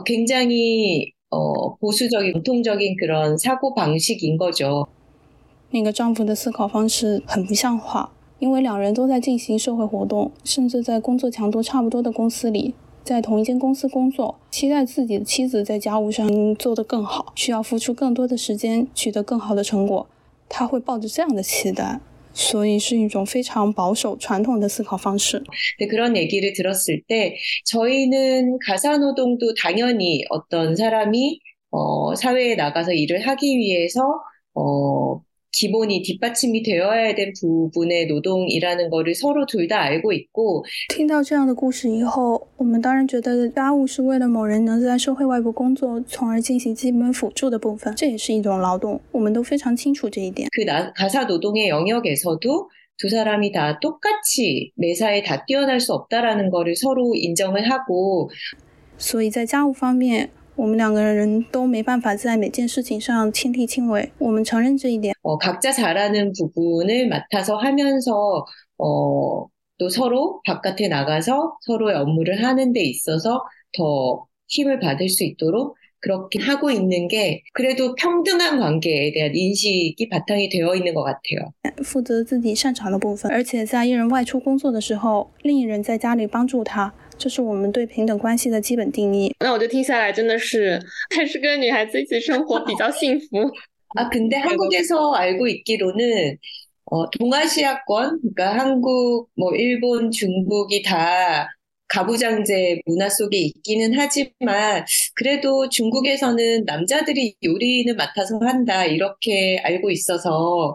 B: 굉장히 보수적인, 전통적인 그런 사고 방식인 거죠.
D: 那个丈夫的思考方式很不像话，因为两人都在进行社会活动，甚至在工作强度差不多的公司里，在同一间公司工作，期待自己的妻子在家务上做得更好，需要付出更多的时间，取得更好的成果。他会抱着这样的期待，所以是一种非常保守传统的思考方式。
B: 그런 얘기를 들었을 때 저희는 가사노동도 당연히 어떤 사람이 사회에 나가서 일을 하기 위해서 기본이 뒷받침이 되어야 될 부분의 노동이라는 거를 서로 둘 다 알고 있고
D: 听到这样的故事以后，我们当然觉得家务是为了某人能在社会外部工作，从而进行基本辅助的部分，这也是一种劳动，我们都非常清楚这一点。
B: 그 가사 노동의 영역에서도 두 사람이 다 똑같이 매사에 다 뛰어날 수 없다라는 거를 서로 인정을 하고
D: 所以在家务方面，我们两个人都没办法在每件事情上亲力亲为，我们承认这一点。
B: 각자 잘하는 부분을 맡아서 하면서 또 서로 바깥에 나가서 서로의 업무를 하는 데 있어서 더 힘을 받을 수 있도록 그렇게 하고 있는 게 그래도 평등한 관계에 대한 인식이 바탕이 되어 있는 것 같아요.
D: 负责自己擅长的部分，而且在一人外出工作的时候，另一人在家里帮助他，这是我们对平等关系的基本定义。
A: 那我就听下来真的是还是跟女孩子一起生活比较幸福。
B: 근데 한국에서 알고 있기로는 동아시아권, 그러니까 한국, 일본, 중국이 다 가부장제 문화 속에 있기는 하지만 그래도 중국에서는 남자들이 요리는 맡아서 한다 이렇게 알고 있어서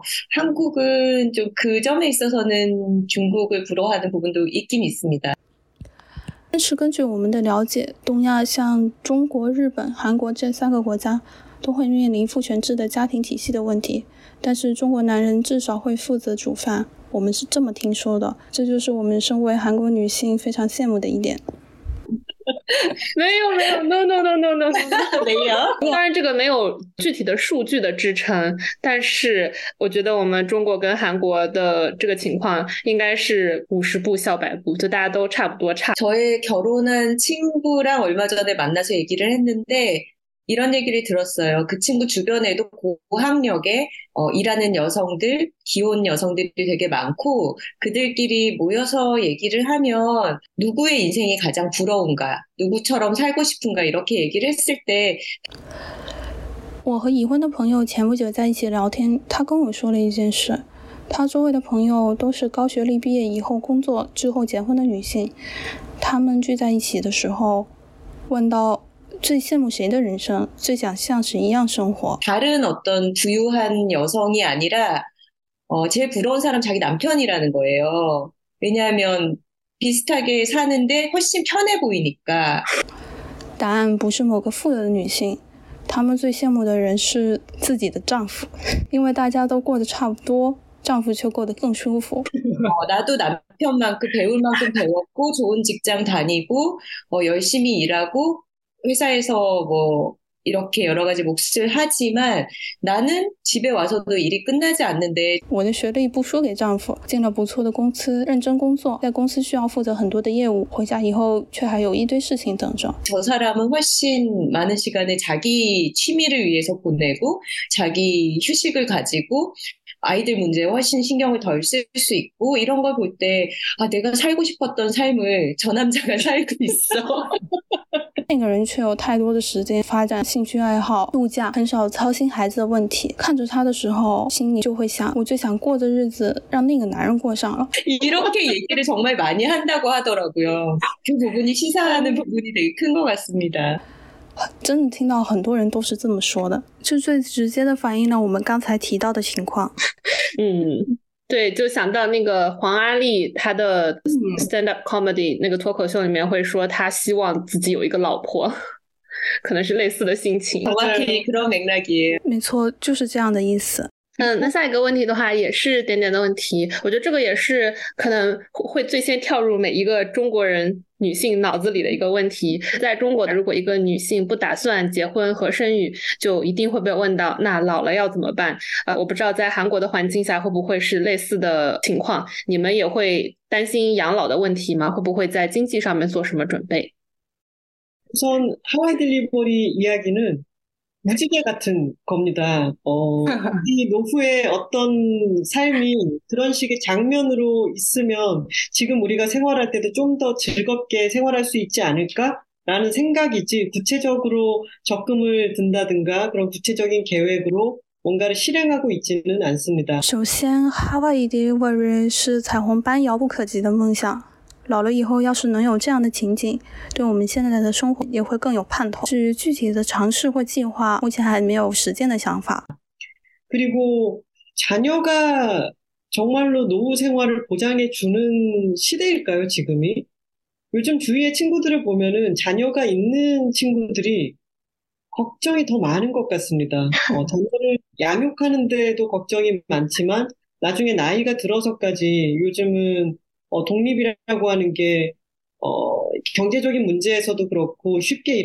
B: 한국은 좀 그 점에 있어서는 중국을 부러워하는 부분도 있긴 있습니다.
D: 但是根据我们的了解，东亚像中国、日本、韩国这3个国家都会面临父权制的家庭体系的问题，但是中国男人至少会负责煮饭，我们是这么听说的，这就是我们身为韩国女性非常羡慕的一点。
A: 没有 no
B: 没有。
A: 当然这个没有具体的数据的支撑，但是我觉得我们中国跟韩国的这个情况应该是50步笑100步，就大家都差不多差。
B: 저의 결혼한 친구랑 얼마 전에 만나서 얘기를 했는데 이런 얘기를 들었어요. 그 친구 주변에도 고학력에 일하는 여성들, 기혼 여성들이 되게 많고 그들끼리 모여서 얘기를 하면 누구의 인생이 가장 부러운가, 누구처럼 살고 싶은가 이렇게 얘기를 했을 때
D: 我和已婚的朋友前不久在一起聊天，他跟我说了一件事，他周围的朋友都是高学历毕业以后工作之后结婚的女性，他们聚在一起的时候问到最羡慕谁的人生，最想像谁一样生活。
B: 다른 어떤 부유한 여성이 아니라 제일 부러운 사람 자기 남편이라는 거예요. 왜냐하면 비슷하게 사는데 훨씬 편해 보이니까.
D: 答案不是某个富有的女性，她们最羡慕的人是自己的丈夫，因为大家都过得差不多，丈夫却过得更舒服。
B: 나도 남편만큼 배울 만큼 배웠고 좋은 직장 다니고 열심히 일하고 회사에서 이렇게 여러 가지 몫을 하지만 나는 집에 와서도 일이 끝나지 않는데
D: 我的学历不输给丈夫，进了不错的公司，认真工作，在公司需要负责很多的业务，回家以后却还有一堆事情等着。
B: 저 사람은 훨씬 많은 시간을 자기 취미를 위해서 보내고 자기 휴식을 가지고 아이들 문제에 훨씬 신경을 덜 쓸 수 있고 이런 걸 볼 때 내가 살고 싶었던 삶을 저 남자가 살고 있어.
D: 那个人却有太多的时间发展兴趣爱好、度假，很少操心孩子的问题。看着他的时候，心里就会想，我最想过的日子让那个男人过上了。
B: 이렇게 얘기를 정말 많이 한다고 하더라고요. 그 부분이 시사하는 부분이 되게 큰 것 같습니다.
D: 真的听到很多人都是这么说的，这最直接的反映了我们刚才提到的情况。
A: 对，就想到那个黄阿丽，她的 stand up comedy 那个脱口秀里面会说，她希望自己有一个老婆，可能是类似的心情。
B: 정확히 그런 맥락이에요.
D: 没错，就是这样的意思。
A: 那下一个问题的话也是点点的问题，我觉得这个也是可能会最先跳入每一个中国人女性脑子里的一个问题。在中国，如果一个女性不打算结婚和生育，就一定会被问到那老了要怎么办。我不知道在韩国的环境下会不会是类似的情况，你们也会担心养老的问题吗？会不会在经济上面做什么准备？
C: 우선 하와이 딜리버리 이야기는 무지개 같은 겁니다. 이 노후의 어떤 삶이 그런 식의 장면으로 있으면 지금 우리가 생활할 때도 좀 더 즐겁게 생활할 수 있지 않을까라는 생각이지 구체적으로 적금을 든다든가 그런 구체적인 계획으로 뭔가를 실행하고 있지는 않습니다.
D: 首先，哈瓦伊 delivery 是彩虹般遥不可及的梦想。老了以后，要是能有这样的情景，对我们现在的生活也会更有盼头。至于具体的尝试或计划，目前还没有实践的想法。
C: 그리고 자녀가 정말로 노후 생활을 보장해 주는 시대일까요, 지금이? 요즘 주위의 친구들을 보면은 자녀가 있는 친구들이 걱정이 더 많은 것 같습니다. 자녀를 양육하는 데도 걱정이 많지만 나중에 나이가 들어서까지 요즘은 독립이라고 하는 게 경제적인 문제에서도 그렇고 쉽게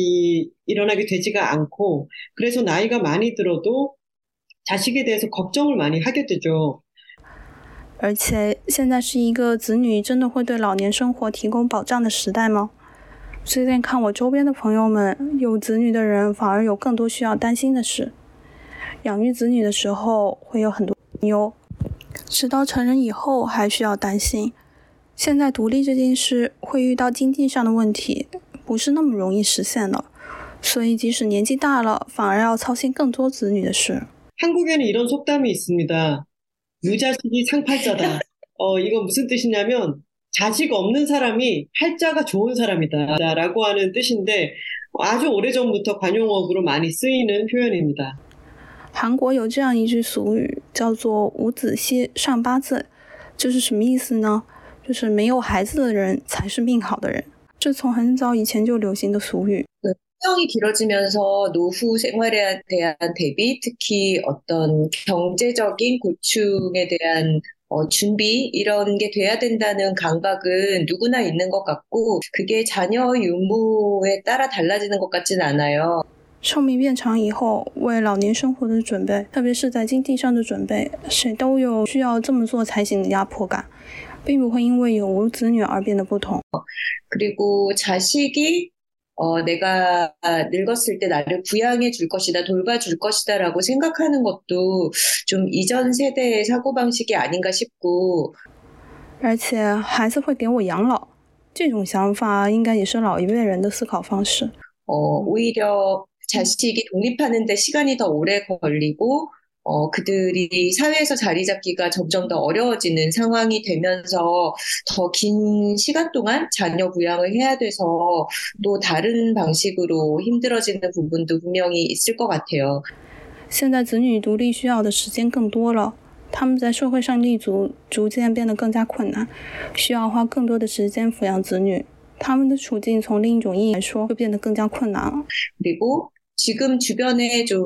C: 일어나게 되지가 않고 그래서 나이가 많이 들어도 자식에 대해서 걱정을 많이 하게 되죠.
D: 而且现在是一个子女真的会对老年生活提供保障的时代吗？最近看我周边的朋友们，有子女的人反而有更多需要担心的事。养育子女的时候会有很多担忧，直到成人以后还需要担心。现在独立这件事会遇到经济上的问题，不是那么容易实现的，所以即使年纪大了，反而要操心更多子女的事。
C: 한국에는 이런 속담이 있습니다. 유자식이 상팔자다. 이건 무슨 뜻이냐면 자식 없는 사람이 팔자가 좋은 사람이다 라고 하는 뜻인데 아주 오래전부터 관용어구로 많이 쓰이는 표현입니다.
D: 韩国有这样一句俗语，叫做无子息上八字，这是什么意思呢？就是没有孩子的人才是命好的人，这从很早以前就流行的俗语。
B: 수명이 길어지면서 노후 생활에 대한 대비, 특히 어떤 경제적인 고충에 대한 준비 이런 게 돼야 된다는 강박은 누구나 있는 것 같고 그게 자녀 유무에 따라 달라지는 것 같진 않아요.
D: 寿命变长以后，为老年生活的准备，特别是在经济上的准备，谁都有需要这么做才行的压迫感，并不会因为有无子女而变得不同。
B: 그리고 자식이 내가 늙었을 때 나를 부양해 줄 것이다, 돌봐줄 것이다 라고 생각하는 것도 좀 이전 세대의 사고방식이 아닌가 싶고
D: 而且孩子会给我养老，这种想法应该也是老一辈人的思考方式。
B: 오히려 자식이 독립하는 데 시간이 더 오래 걸리고 그들이 사회에서 자리 잡기가 점점 더 어려워지는 상황이 되면서 더 긴 시간 동안 자녀 부양을 해야 돼서 또 다른 방식으로 힘들어지는 부분도 분명히 있을 것 같아요.
D: 现在子女独立需要的时间更多了，他们在社会上立足逐渐变得更加困难，需要花更多的时间抚养子女。他们的处境从另一种意义来说，就变得更加困难了。
B: 그리고 지금 주변에 좀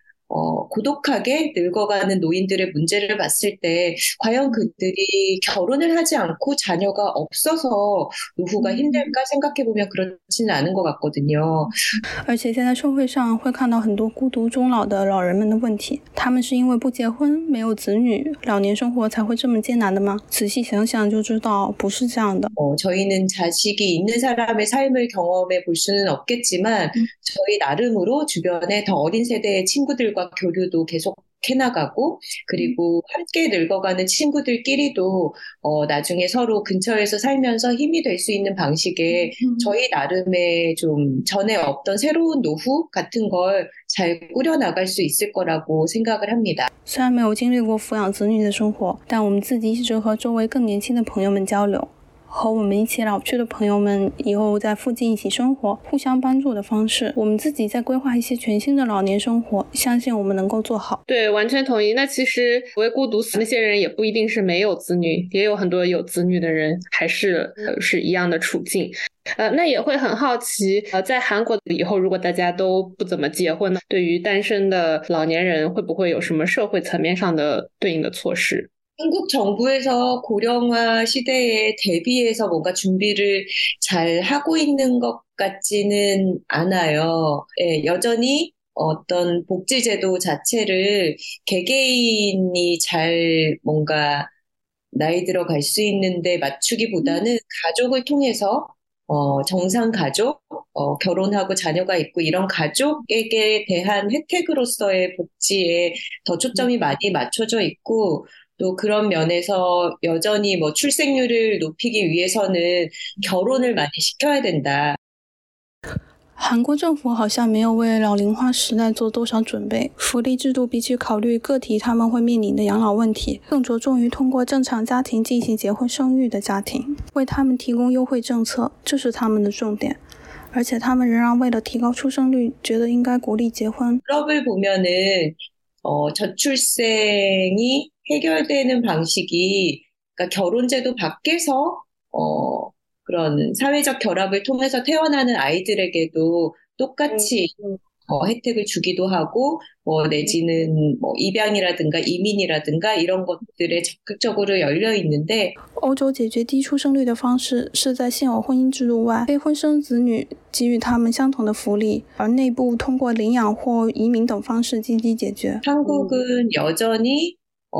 B: 고독하게 늙어가는 노인들의 문제를 봤을 때 과연 그들이 결혼을 하지 않고 자녀가 없어서 노후가 힘들까 생각해보면 그렇지는 않은 것 같거든요.
D: 而且现在社会上会看到很多孤独终老的老人们的问题，他们是因为不结婚、没有子女，老年生活才会这么艰难的吗？仔细想想就知道不是这样的。
B: 저희는 자식이 있는 사람의 삶을 경험해 볼 수는 없겠지만 저희 나름으로 주변에 더 어린 세대의 친구들과 교류도 계속 해나가고 그리고 함께 늙어가는 친구들끼리도 나중에 서로 근처에서 살면서 힘이 될 수 있는 방식의 저희 나름의 좀 전에 없던 새로운 노후 같은 걸 잘 꾸려나갈 수 있을 거라고 생각을 합니다.
D: 虽然没有经历过抚养子女的生活，但我们自己一直和周围更年轻的朋友们交流。 和我们一起老去的朋友们以后在附近一起生活，互相帮助的方式，我们自己在规划一些全新的老年生活，相信我们能够做好。
A: 对，完全同意。那其实所谓孤独死那些人也不一定是没有子女，也有很多有子女的人还是是一样的处境。那也会很好奇，在韩国以后如果大家都不怎么结婚呢，对于单身的老年人会不会有什么社会层面上的对应的措施？
B: 한국 정부에서 고령화 시대에 대비해서 뭔가 준비를 잘 하고 있는 것 같지는 않아요. 예, 여전히 어떤 복지제도 자체를 개개인이 잘 뭔가 나이 들어갈 수 있는데 맞추기보다는 가족을 통해서 정상 가족, 결혼하고 자녀가 있고 이런 가족에게 대한 혜택으로서의 복지에 더 초점이 많이 맞춰져 있고 또 그런 면에서 여전히 뭐 출생률을 높이기 위해서는 결혼을 많이 시켜야 된다.
D: 韩国政府好像没有为老龄化时代做多少准备，福利制度比起考虑个体他们会面临的养老问题，更着重于通过正常家庭进行结婚生育的家庭，为他们提供优惠政策，这是他们的重点。而且他们仍然为了提高出生率，觉得应该鼓励结婚。
B: 유럽을 보면은 저출생이 해결되는 방식이 그러니까 결혼제도 밖에서 그런 사회적 결합을 통해서 태어나는 아이들에게도 똑같이 혜택을 주기도 하고 내지는 입양이라든가 이민이라든가 이런 것들에 적극적으로 열려 있는데
D: 欧洲解决低出生率的方式是在现有婚姻制度外，非婚生子女给予他们相同的福利，而内部通过领养或移民等方式积极解决。
B: 한국은 여전히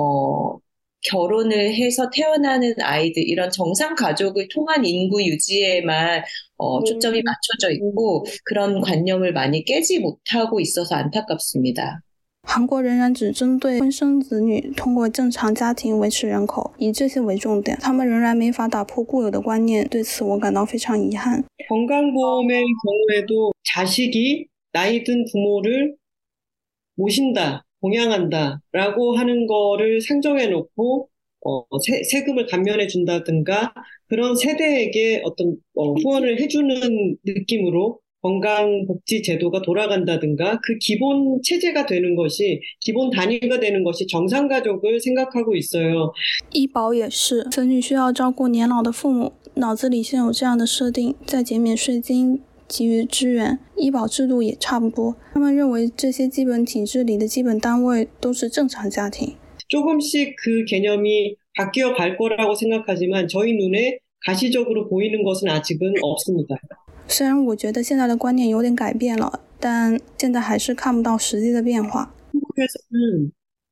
B: 결혼을 해서 태어나는 아이들 이런 정상 가족을 통한 인구 유지에만 초점이 맞춰져 있고 그런 관념을 많이 깨지 못하고 있어서 안타깝습니다.
D: 韩国仍然只针对婚生子女，通过正常家庭维持人口，以这些为重点。他们仍然没法打破固有的观念，对此我感到非常遗憾。
C: 건강보험의 경우에도 자식이 나이 든 부모를 모신다, 봉양한다라고 하는 거를 상정해 놓고 세금을 감면해 준다든가 그런 세대에게 어떤 후원을 해주는 느낌으로 건강복지 제도가 돌아간다든가 그 기본 체제가 되는 것이 기본 단위가 되는 것이 정상가족을 생각하고 있어요.
D: 医保也是，子女需要照顾年老的父母，脑子里先有这样的设定，再减免税金给予支援。医保制度也差不多，他们认为这些基本体制里的基本单位都是正常家庭。
C: 조금씩 그 개념이 바뀌어 갈 거라고 생각하지만 저희 눈에 가시적으로 보이는 것은 아직은 없습니다.
D: 虽然我觉得现在的观念有点改变了，但现在还是看不到实际的变化。
C: 한국에서는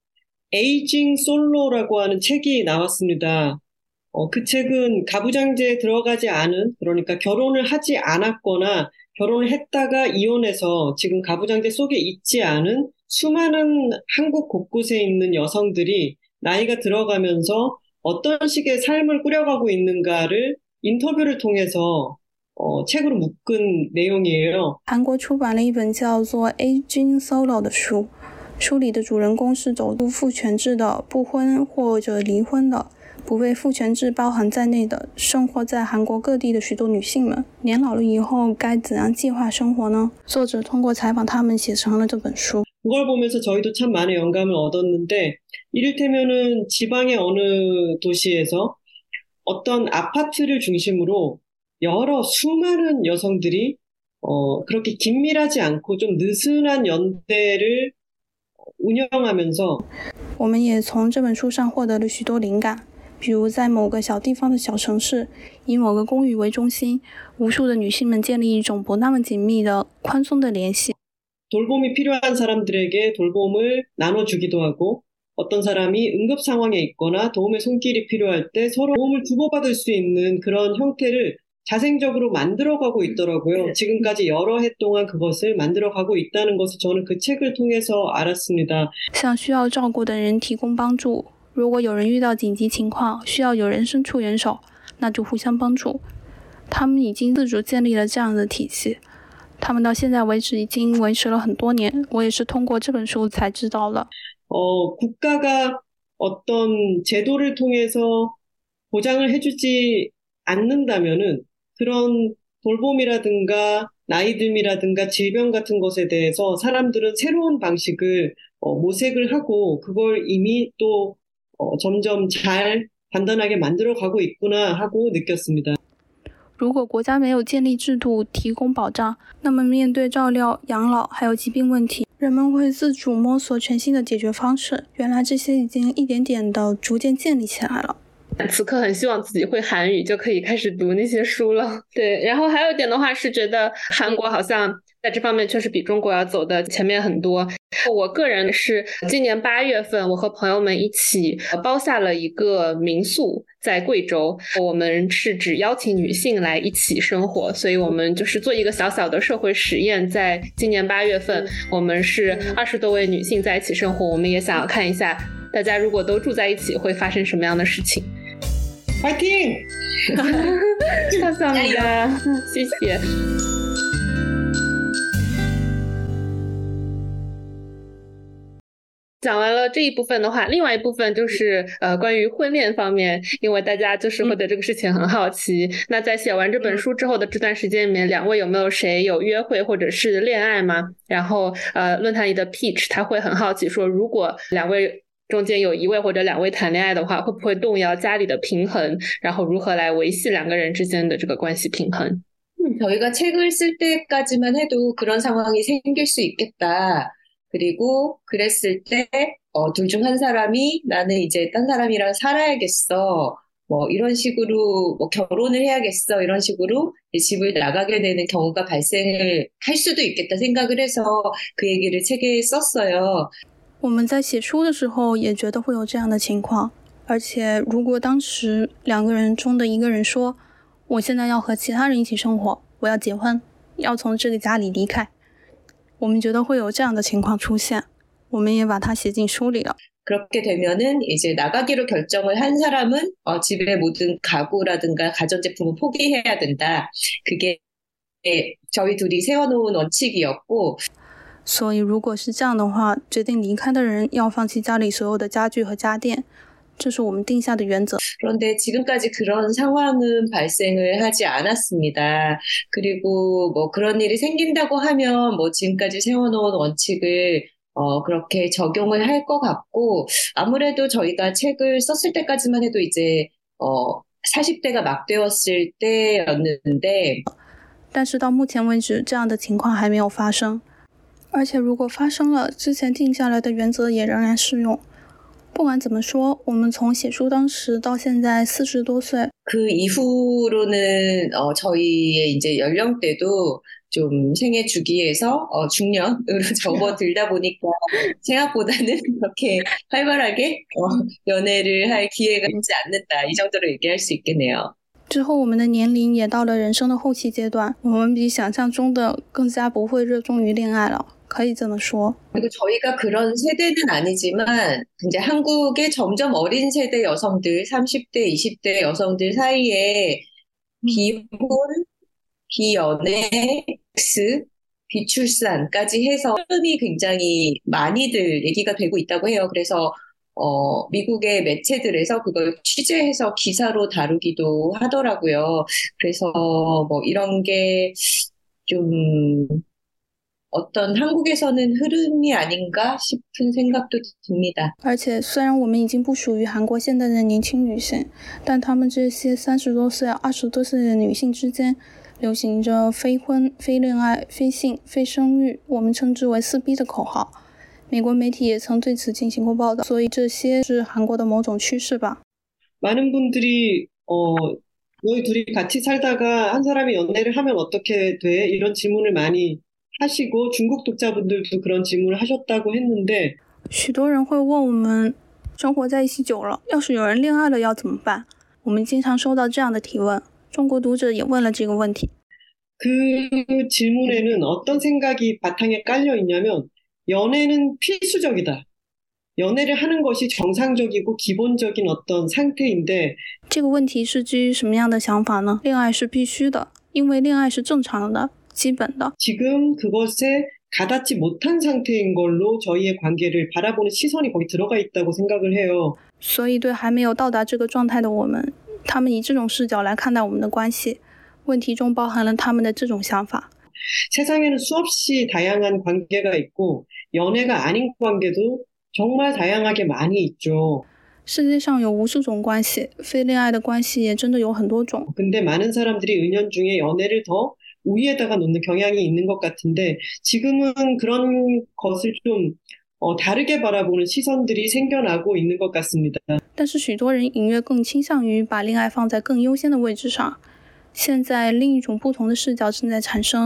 C: 에이징 솔로라고 하는 책이 나왔습니다. 그 책은 가부장제에 들어가지 않은, 그러니까 결혼을 하지 않았거나 결혼을 했다가 이혼해서 지금 가부장제 속에 있지 않은 수많은 한국 곳곳에 있는 여성들이 나이가 들어가면서 어떤 식의 삶을 꾸려가고 있는가를 인터뷰를 통해서 책으로 묶은 내용이에요.
D: 韩国出版了一本叫做《Aging Solo》的书，书里的主人公是走入父权制的、不婚或者离婚的、不被父权制包含在内的生活在韩国各地的许多女性们。年老了以后该怎样计划生活呢？作者通过采访她们写成了这本书。
C: 그걸 보면서 저희도 참 많은 영감을 얻었는데 이를테면은 지방의 어느 도시에서 어떤 아파트를 중심으로 여러 수많은 여성들이 그렇게 긴밀하지 않고 좀 느슨한 연대를 운영하면서
D: 我们也从这本书上获得了许多灵感，比如在某个小地方的小城市，以某个公寓为中心，无数的女性们建立一种不那么紧密的宽松的联系。
C: 돌봄이 필요한 사람들에게 돌봄을 나눠주기도 하고 어떤 사람이 응급 상황에 있거나 도움의 손길이 필요할 때 서로 도움을 주고받을 수 있는 그런 형태를 자생적으로 만들어가고 있더라고요. 지금까지 여러 해 동안 그것을 만들어가고 있다는 것을 저는 그 책을 통해서 알았습니다.
D: 向需要照顾的人提供帮助，如果有人遇到紧急情况，需要有人伸出援手，那就互相帮助。他们已经自主建立了这样的体系，他们到现在为止已经维持了很多年，我也是通过这本书才知道的。
C: 국가가 어떤 제도를 통해서 보장을 해주지 않는다면은 그런 돌봄이라든가 나이듦이라든가 질병 같은 것에 대해서 사람들은 새로운 방식을 모색을 하고 그걸 이미 또 점점 잘 단단하게 만들어가고 있구나 하고 느꼈습니다.
D: 如果国家没有建立制度提供保障，那么面对照料、养老还有疾病问题，人们会自主摸索全新的解决方式。原来这些已经一点点的逐渐建立起来了。
A: 此刻很希望自己会韩语，就可以开始读那些书了。对，然后还有一点的话是觉得韩国好像在这方面确实比中国要走的前面很多。我个人是今年8月份，我和朋友们一起包下了一个民宿在贵州，我们是只邀请女性来一起生活，所以我们就是做一个小小的社会实验。在今年8月份，我们是20多位女性在一起生活，我们也想要看一下大家如果都住在一起会发生什么样的事情。
C: 파이팅!
A: 감사합니다. 谢谢。 讲完了这一部分的话，另外一部分就是关于婚恋方面，因为大家就是会对这个事情很好奇。那在写完这本书之后的这段时间里面，两位有没有谁有约会或者是恋爱吗？然后论坛里的 Peach 他会很好奇说，如果两位中间有一位或者两位谈恋爱的话，会不会动摇家里的平衡？然后如何来维系两个人之间的这个关系平衡？
B: 저희가 책을 쓸 때까지만 해도 그런 상황이 생길 수 있겠다. 그리고 그랬을 때, 둘 중 한 사람이 나는 이제 딴 사람이랑 살아야겠어. 뭐 이런 식으로 뭐 결혼을 해야겠어. 이런 식으로 집을 나가게 되는 경우가 발생을 할 수도 있겠다 생각을 해서 그 얘기를 책에 썼어요.
D: 我们在写书的时候也觉得会有这样的情况，而且如果当时两个人中的一个人说我现在要和其他人一起生活，我要结婚，要从这个家里离开，我们觉得会有这样的情况出现，我们也把它写进书里了。
B: 그렇게 되면은 이제 나가기로 결정을 한 사람은 집의 모든 가구라든가 가전제품을 포기해야 된다. 그게 저희 둘이 세워놓은 원칙이었고
D: 所以如果是这样的话，决定离开的人要放弃家里所有的家具和家电，这是我们定下的原则。
B: 그런데 지금까지 그런 상황은 발생을 하지 않았습니다. 그리고 뭐 그런 일이 생긴다고 하면 뭐 지금까지 세워놓은 원칙을 그렇게 적용을 할 것 같고 아무래도 저희가 책을 썼을 때까지만 해도 이제 40대가 막 되었을 때였는데
D: 但是到目前为止，这样的情况还没有发生。而且如果发生了，之前定下来的原则也仍然适用。不管怎么说，我们从写书当时到现在40多岁，
B: 그 이후로는 저희의 이제 연령대도 좀 생애 주기에서 중년으로 접어들다 보니까 생각보다는 그렇게 활발하게 연애를 할 기회가 있지 않는다. 이 정도로 얘기할 수 있겠네요.
D: 之后我们的年龄也到了人生的后期阶段，我们比想象中的更加不会热衷于恋爱了，可以这么说。
B: 그리고 저희가 그런 세대는 아니지만 이제 한국의 점점 어린 세대 여성들, 30대, 20대 여성들 사이에 비혼, 비연애, 섹스, 비출산까지 해서 흐름이 굉장히 많이들 얘기가 되고 있다고 해요. 그래서 미국의 매체들에서 그걸 취재해서 기사로 다루기도 하더라고요. 그래서 뭐 이런 게 좀 어떤 한국에서는 흐름이 아닌가 싶은 생각도 듭니다.
D: 而且虽然我们已经不属于韩国现代的年轻女性，但她们这些30多岁、20多岁的女性之间流行着非婚、非恋爱、非性、非生育，我们称之为4B的口号。美国媒体也曾对此进行过报道，所以这些是韩国的某种趋势吧。
C: 많은 분들이 너희 둘이 같이 살다가 한 사람이 연애를 하면 어떻게 돼? 이런 질문을 많이 하시고 중국 독자분들도 그런 질문을 하셨다고 했는데
D: 许多人会问我们，生活在一起久了，要是有人恋爱了要怎么办？我们经常收到这样的提问，中国读者也问了这个问题。
C: 그 질문에는 어떤 생각이 바탕에 깔려 있냐면 연애는 필수적이다. 연애를 하는 것이 정상적이고 기본적인 어떤 상태인데
D: 这个问题是基于什么样的想法呢？恋爱是必须的，因为恋爱是正常的、基本的。
C: 지금 그것에 가닿지 못한 상태인 걸로 저희의 관계를 바라보는 시선이 거기 들어가 있다고 생각을 해요.
D: 所以对还没有到达这个状态的我们，他们以这种视角来看待我们的关系，问题中包含了他们的这种想法。
C: 세상에는 수없이 다양한 관계가 있고 연애가 아닌 관계도 정말 다양하게 많이 있죠.
D: 世界上有无数种关系，非恋爱的关系也真的有很多种。
C: 근데 많은 사람들이 은연중에 연애를 더 우위에다가 놓는 경향이 있는 것 같은데 지금은 그런 것을 좀 다르게 바라보는 시선들이 생겨나고 있는 것 같습니다.
D: 但是许多人隐约更倾向于把恋爱放在更优先的位置上。现在另一种不同的视角正在产生。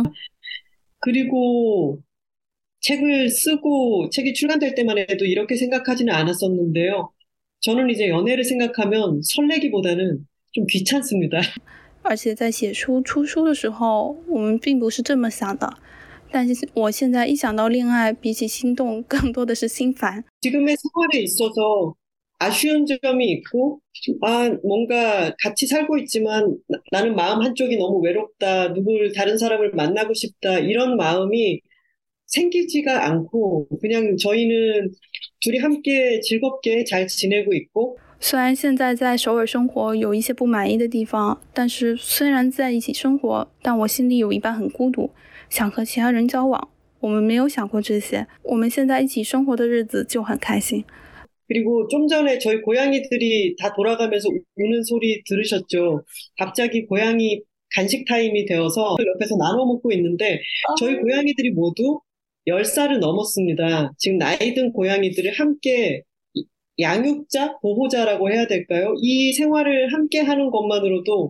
C: 그리고 책을 쓰고 책이 출간될 때만 해도 이렇게 생각하지는 않았었는데요. 저는 이제 연애를 생각하면 설레기보다는 좀 귀찮습니다.
D: 而且在写书出书的时候，我们并不是这么想的。但是我现在一想到恋爱，比起心动，更多的是心烦。
C: 지금의 생활에 있어서 아쉬운 점이 있고, 뭔가 같이 살고 있지만 나는 마음 한쪽이 너무 외롭다, 다른 사람을 만나고 싶다, 이런 마음이 생기지가 않고, 그냥 저희는 둘이 함께 즐겁게 잘 지내고 있고
D: 虽然现在在首尔生活有一些不满意的地方，但是虽然在一起生活，但我心里有一半很孤独，想和其他人交往。我们没有想过这些，我们现在一起生活的日子就很开心。
C: 그리고 좀 전에 저희 고양이들이 다 돌아가면서 우는 소리 들으셨죠? 갑자기 고양이 간식 타임이 되어서 옆에서 나눠 먹고 있는데 저희 고양이들이 모두 10살을 넘었습니다. 지금 나이 든 고양이들을 함께 양육자, 보호자라고 해야 될까요? 이 생활을 함께 하는 것만으로도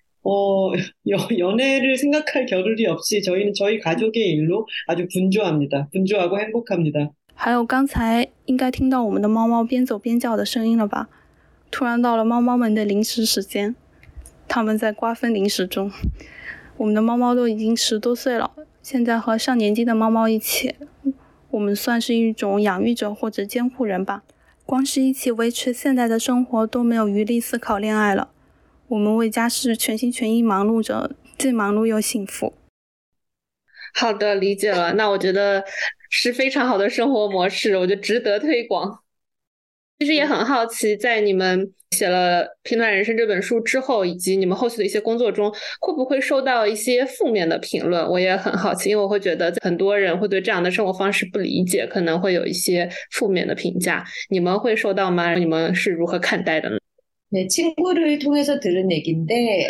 C: 연애를 생각할 겨를이 없이 저희는 저희 가족의 일로 아주 분주합니다. 분주하고 행복합니다.
D: 还有刚才应该听到我们的猫猫边走边叫的声音了吧？突然到了猫猫们的零食时间，它们在瓜分零食中。我们的猫猫都已经10多岁了，现在和上年纪的猫猫一起，我们算是一种养育者或者监护人吧。光是一起维持现在的生活都没有余力思考恋爱了。我们为家事全心全意忙碌着，既忙碌又幸福。
A: 好的，理解了。那我觉得是非常好的生活模式，我觉得值得推广。其实也很好奇，在你们写了《平凡人生》这本书之后，以及你们后续的一些工作中，会不会收到一些负面的评论？我也很好奇，因为我会觉得很多人会对这样的生活方式不理解，可能会有一些负面的评价。你们会收到吗？你们是如何看待的呢？
B: 네, 친구를 통해서 들은 얘기인데,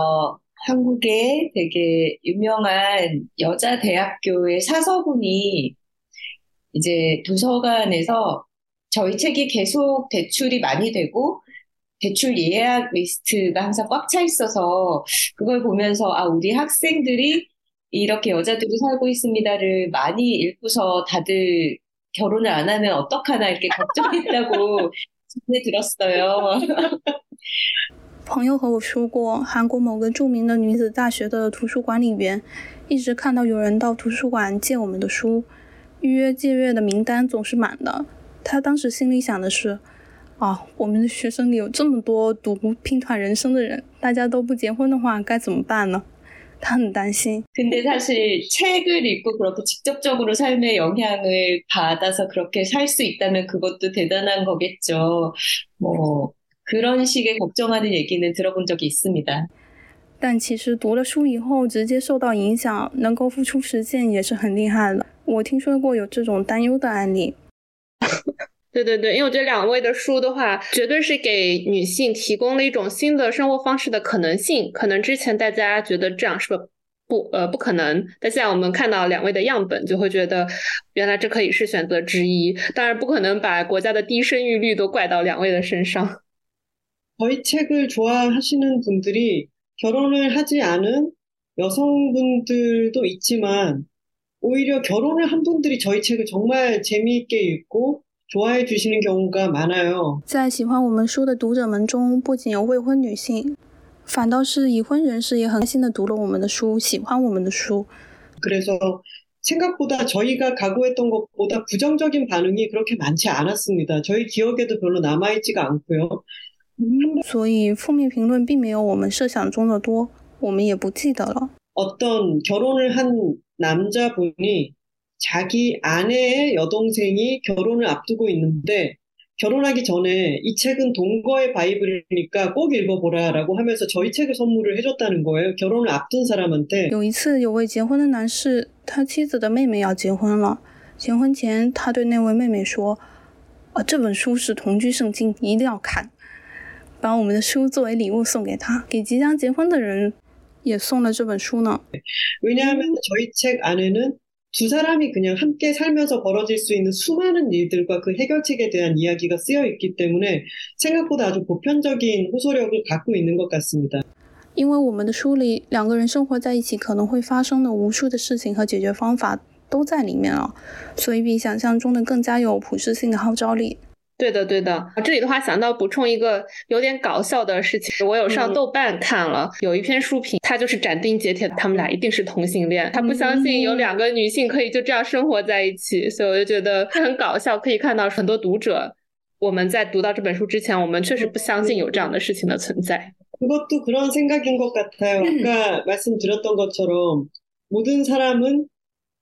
B: 한국에 되게 유명한 여자 대학교의 사서분이 이제 도서관에서 저희 책이 계속 대출이 많이 되고 대출 예약 리스트가 항상 꽉 차 있어서 그걸 보면서 우리 학생들이 이렇게 여자들이 살고 있습니다를 많이 읽고서 다들 결혼을 안 하면 어떡하나 이렇게 걱정했다고 전해 들었어요.
D: 朋友和我说过，韩国某个著名的女子大学的图书管理员一直看到有人到图书馆借我们的书，预约借阅的名单总是满的。他当时心里想的是，我们的学生里有这么多读拼团人生的人，大家都不结婚的话该怎么办呢？他很担心。
B: 근데 사실 책을 읽고 그렇게 직접적으로 삶에 영향을 받아서 그렇게 살 수 있다면 그것도 대단한 거겠죠. 뭐 그런 식의 걱정하는 얘기는 들어본 적이 있습니다.
D: 但其实读了书以后直接受到影响，能够付出实践也是很厉害的。我听说过有这种担忧的案例。
A: 对对对，因为我觉得两位的书的话，绝对是给女性提供了一种新的生活方式的可能性。可能之前大家觉得这样是不可能，但现在我们看到两位的样本，就会觉得原来这可以是选择之一。当然不可能把国家的低生育率都怪到两位的身上。
C: 저희 책을 좋아하시는 분들이 결혼을 하지 않은 여성분들도 있지만 오히려 결혼을 한 분들이 저희 책을 정말 재미있게 읽고 좋아해 주시는 경우가 많아요.
D: 在喜欢我们书的读者们中，不仅有未婚女性，反倒是已婚人士也很开心地读了我们的书，喜欢我们的书。
C: 그래서 생각보다 저희가 각오했던 것보다 부정적인 반응이 그렇게 많지 않았습니다. 저희 기억에도 별로 남아있지가 않고요.
D: 所以负面评论并没有我们设想中的多，我们也不记得了。
C: 어떤 결혼을 한 남자분이 자기 아내의 여동생이 결혼을 앞두고 있는데 결혼하기 전에 이 책은 동거의 바이블이니까 꼭 읽어보라라고 하면서 저희 책을 선물을 해줬다는 거예요. 결혼을 앞둔 사람한테.
D: 有一次，有位结婚的男士，他妻子的妹妹要结婚了，结婚前他对那位妹妹说：“这本书是同居圣经，一定要看。”把我们的书作为礼物送给他，给即将结婚的人也送了这本书呢。
C: 왜냐하면 저희 책 안에는 두 사람이 그냥 함께 살면서 벌어질 수 있는 수많은 일들과 그 해결책에 대한 이야기가 쓰여 있기 때문에 생각보다 아주 보편적인 호소력을 갖고 있는 것 같습니다.
D: 因为我们的书里两个人生活在一起可能会发生的无数的事情和解决方法都在里面了，所以比想象中的更加有普适性的号召力。
A: 对的对的，这里的话想到补充一个有点搞笑的事情，我有上豆瓣看了，有一篇书评，他就是斩钉截铁他们俩一定是同性恋，他不相信有两个女性可以就这样生活在一起，所以我就觉得很搞笑。可以看到很多读者，我们在读到这本书之前，我们确实不相信有这样的事情的存在。
C: 그것도 그런 생각인 것 같아요. 아까 말씀드렸던 것처럼 모든 사람은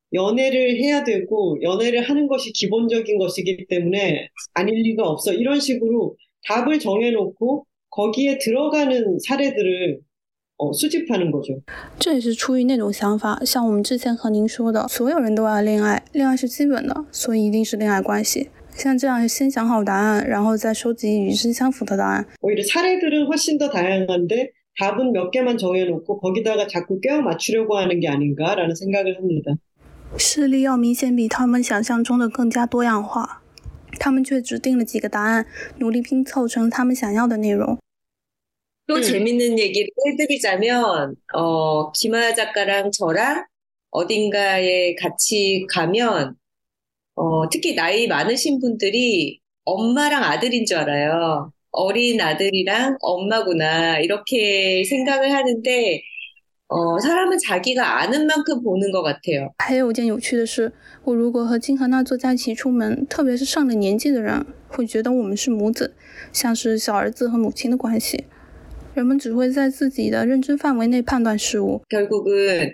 C: 연애를 해야 되고 연애를 하는 것이 기본적인 것이기 때문에 아닐 리가 없어. 이런 식으로 답을 정해놓고 거기에 들어가는 사례들을 수집하는 거죠.
D: 这也是出于那种想法，像我们之前和您说的，所有人都要恋爱，恋爱是基本的，所以一定是恋爱关系。像这样先想好答案，然后再收集与之相符的答案。
C: 오히려 사례들은 훨씬 더 다양한데 답은 몇 개만 정해놓고 거기다가 자꾸 껴 맞추려고 하는 게 아닌가라는 생각을 합니다.
D: 事例要明显比他们想象中的更加多样化，他们却只定了几个答案，努力拼凑成他们想要的内容。
B: 또 재밌는 얘기를 해드리자면, 김하야 작가랑 저랑 어딘가에 같이 가면, 특히 나이 많으신 분들이 엄마랑 아들인 줄 알아요. 어린 아들이랑 엄마구나, 이렇게 생각을 하는데, 사람은 자기가 아는 만큼 보는 것 같아요.
D: 还有一件有趣的是，我如果和金和娜作家一起出门，特别是上了年纪的人，会觉得我们是母子，像是小儿子和母亲的关系。人们只会在自己的认知范围内判断事物。
B: 결국은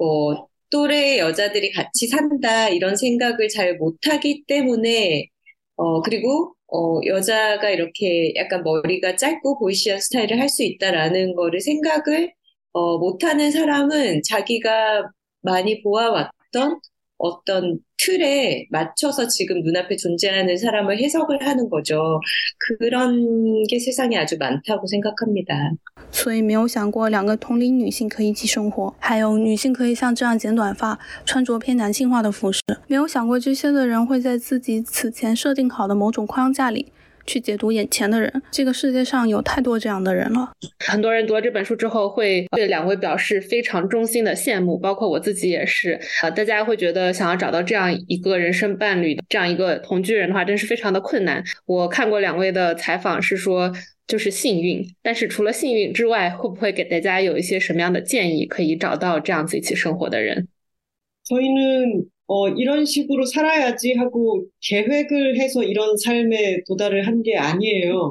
B: 또래 여자들이 같이 산다 이런 생각을 잘 못하기 때문에 그리고 여자가 이렇게 약간 머리가 짧고 보이시한 스타일을 할 수 있다라는 거를 생각을 못하는 사람은 자기가 많이 보아왔던 어떤 틀에 맞춰서 지금 눈앞에 존재하는 사람을 해석을 하는 거죠. 그런 게 세상에 아주 많다고 생각합니다.
D: 所以没有想过两个同龄女性可以一起生活，还有女性可以像这样剪短发，穿着偏男性化的服饰。没有想过这些的人会在自己此前设定好的某种框架里去解读眼前的人。这个世界上有太多这样的人了。
A: 很多人读了这本书之后会对两位表示非常衷心的羡慕，包括我自己也是。大家会觉得想要找到这样一个人生伴侣，这样一个同居人的话真是非常的困难。我看过两位的采访是说就是幸运，但是除了幸运之外，会不会给大家有一些什么样的建议可以找到这样子一起生活的人？
C: 저희는 이런 식으로 살아야지 하고 계획을 해서 이런 삶에 도달을 한 게 아니에요.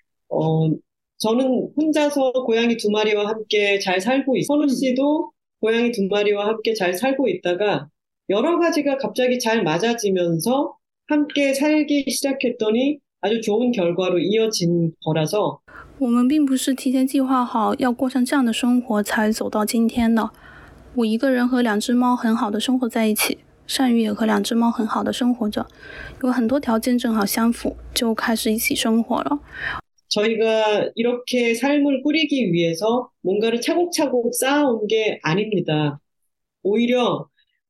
C: 저는 혼자서 고양이 2마리와 함께 잘 살고 있어요. 선우 씨도 고양이 2마리와 함께 잘 살고 있다가 여러 가지가 갑자기 잘 맞아지면서 함께 살기 시작했더니 아주 좋은 결과로 이어진 거라서
D: 我们并不是提前计划好要过上这样的生活才走到今天的。我一个人和2只猫很好的生活在一起，善宇也和2只猫很好的生活着，有很多条件正好相符，就开始一起生活了。
C: 저희가 이렇게 삶을 꾸리기 위해서 뭔가를 차곡차곡 쌓아온 게 아닙니다. 오히려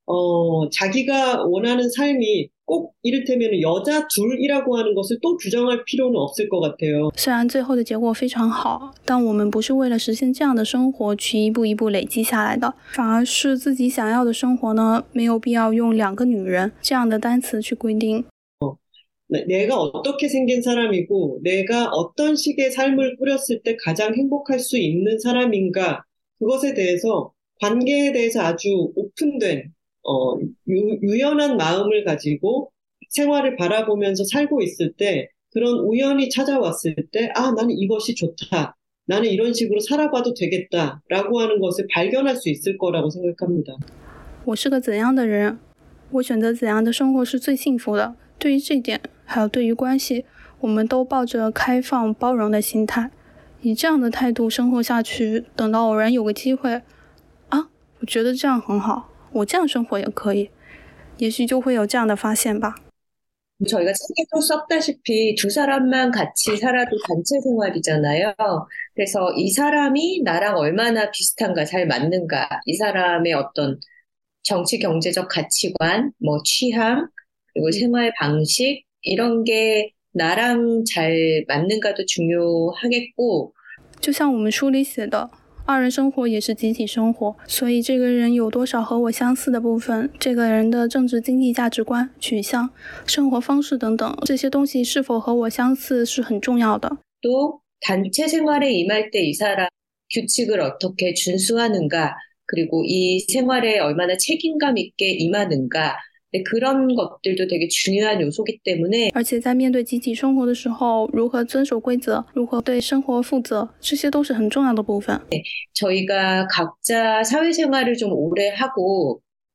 C: 자기가 원하는 삶이 꼭 이를테면 여자 둘이라고 하는 것을 또 규정할 필요는 없을 것 같아요.
D: 虽然最后的结果非常好，但我们不是为了实现这样的生活去一步一步累积下来的，反而是自己想要的生活呢，没有必要用2个女人这样的单词去规定。
C: 내가 어떻게 생긴 사람이고 내가 어떤 식의 삶을 꾸렸을 때 가장 행복할 수 있는 사람인가 그것에 대해서 관계에 대해서 아주 오픈된 유연한 마음을 가지고 생활을 바라보면서 살고 있을 때 그런 우연이 찾아왔을 때 나는 이것이 좋다. 나는 이런 식으로 살아봐도 되겠다라고 하는 것을 발견할 수 있을 거라고 생각합니다.
D: 我是个怎样的人，我选择怎样的生活是最幸福的。对于这点，还有对于关系，我们都抱着开放包容的心态，以这样的态度生活下去，等到偶然有个机会，我觉得这样很好，我这样生活也可以，也许就会有这样的发现吧。
B: 저희가 책에도 썼다시피 두 사람만 같이 살아도 단체 생활이잖아요. 그래서 이 사람이 나랑 얼마나 비슷한가, 잘 맞는가, 이 사람의 어떤 정치 경제적 가치관, 취향, 그리고 생활 방식 이런 게 나랑 잘 맞는가도 중요하겠고
D: 就像我们书里写的，2人生活也是集体生活，所以这个人有多少和我相似的部分，这个人的政治经济价值观、取向、生活方式等等，这些东西是否和我相似是很重要的。
B: 또 단체 생활에 임할 때 이 사람 규칙을 어떻게 준수하는가 그리고 이 생활에 얼마나 책임감 있게 임하는가 그런 것들도 되게 중요한 요소이기 때문에
D: 而且在面对集体生活的时候，如何遵守规则，如何对生活负责，这些都是很重要的部分。
B: 저희가 각자 사회생활을 좀 오래 하고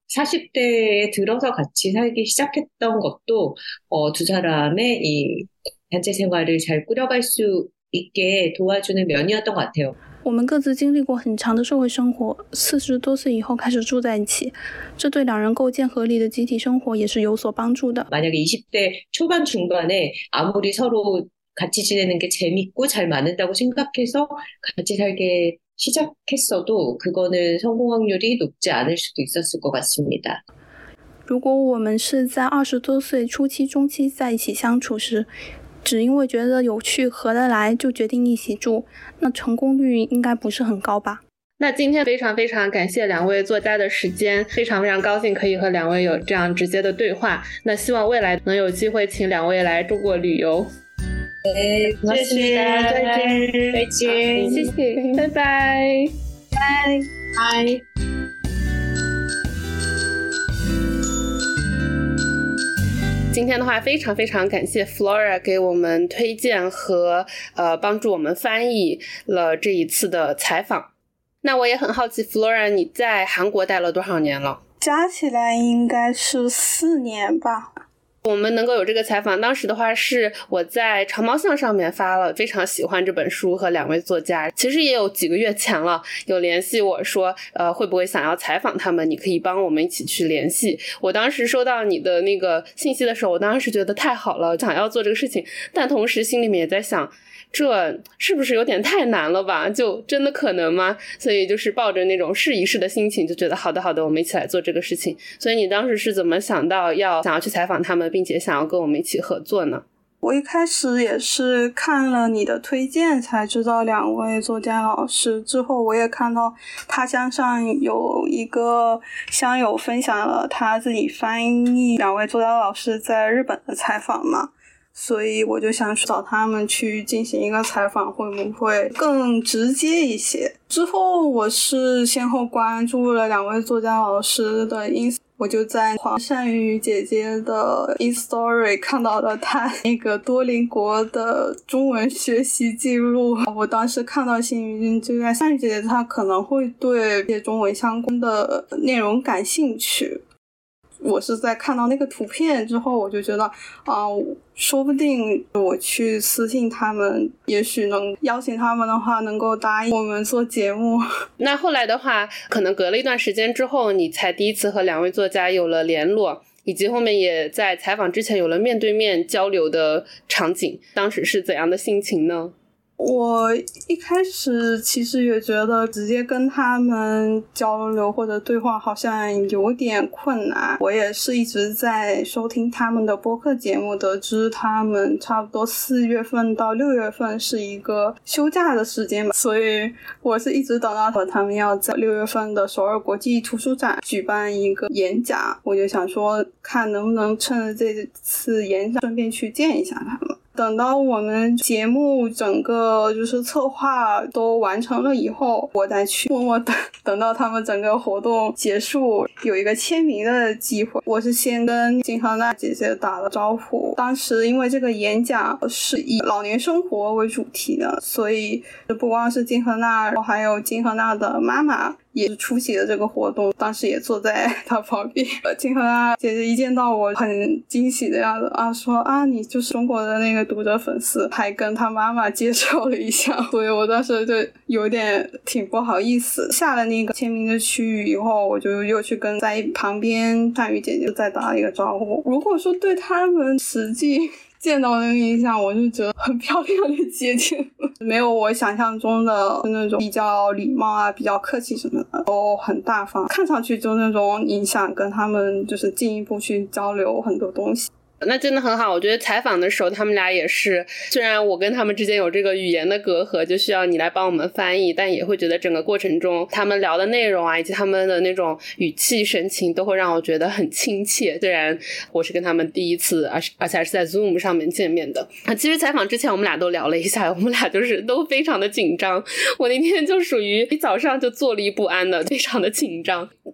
B: 40대에 들어서 같이 살기 시작했던 것도 두 사람의 이 단체 생활을 잘 꾸려갈 수 있게 도와주는 면이었던 것 같아요.
D: 我们各自经历过很长的社会生活，40多岁以后开始住在一起，这对两人构建合理的集体生活也是有所帮助的。
B: 만약에 20대 초반 중반에 아무리 서로 같이 지내는 게 재밌고 잘 맞는다고 생각해서 같이 살게 시작했어도 그거는 성공 확률이 높지 않을 수도 있었을 것 같습니다.
D: 如果我们是在20多岁初期中期在一起相处时，只因为觉得有趣合得来就决定一起住，那成功率应该不是很高吧。
A: 那今天非常非常感谢两位作家的时间，非常非常高兴可以和两位有这样直接的对话。那希望未来能有机会请两位来中国旅游。
B: 네, 고맙습니다. 再见.
A: 谢谢，拜拜。
B: 拜。
A: 今天的话非常非常感谢 Flora 给我们推荐和帮助我们翻译了这一次的采访。那我也很好奇 Flora 你在韩国待了多少年了？
D: 加起来应该是4年吧。
A: 我们能够有这个采访，当时的话是我在长毛象上面发了非常喜欢这本书和两位作家，其实也有几个月前了，有联系我说会不会想要采访他们，你可以帮我们一起去联系。我当时收到你的那个信息的时候，我当时觉得太好了，想要做这个事情，但同时心里面也在想这是不是有点太难了吧，就真的可能吗？所以就是抱着那种试一试的心情，就觉得好的好的，我们一起来做这个事情。所以你当时是怎么想到想要去采访他们，并且想要跟我们一起合作呢？
D: 我一开始也是看了你的推荐才知道两位作家老师，之后我也看到他乡上有一个乡友分享了他自己翻译两位作家老师在日本的采访嘛，所以我就想找他们去进行一个采访，会不会更直接一些。之后我是先后关注了两位作家老师的 ins， 我就在黄善宇姐姐的 Instastory 看到了她那个多邻国的中文学习记录。我当时看到心里就在善宇姐姐她可能会对这些中文相关的内容感兴趣。我是在看到那个图片之后，我就觉得说不定我去私信他们，也许能邀请他们的话能够答应我们做节目。
A: 那后来的话可能隔了一段时间之后，你才第一次和两位作家有了联络，以及后面也在采访之前有了面对面交流的场景，当时是怎样的心情呢？
D: 我一开始其实也觉得直接跟他们交流或者对话好像有点困难，我也是一直在收听他们的播客节目，得知他们差不多4月份到6月份是一个休假的时间吧，所以我是一直等到他们要在6月份的首尔国际图书展举办一个演讲，我就想说看能不能趁着这次演讲顺便去见一下他们。等到我们节目整个就是策划都完成了以后，我再去默默等到他们整个活动结束，有一个签名的机会。我是先跟金荷娜姐姐打了招呼，当时因为这个演讲是以老年生活为主题的，所以不光是金荷娜，还有金荷娜的妈妈也是出席了这个活动，当时也坐在他旁边。金荷娜姐姐一见到我很惊喜的样子说你就是中国的那个读者粉丝，还跟他妈妈介绍了一下，所以我当时就有点挺不好意思。下了那个签名的区域以后，我就又去跟在旁边善宇姐姐再打了一个招呼。如果说对他们实际见到那个印象，我就觉得很漂亮的姐姐，没有我想象中的那种比较礼貌比较客气什么的，都很大方，看上去就那种你想跟他们就是进一步去交流很多东西。
A: 那真的很好，我觉得采访的时候他们俩也是，虽然我跟他们之间有这个语言的隔阂，就需要你来帮我们翻译，但也会觉得整个过程中他们聊的内容以及他们的那种语气神情都会让我觉得很亲切，虽然我是跟他们第一次而且还是在 Zoom 上面见面的。其实采访之前我们俩都聊了一下，我们俩就是都非常的紧张，我那天就属于一早上就坐立不安的，非常的紧张。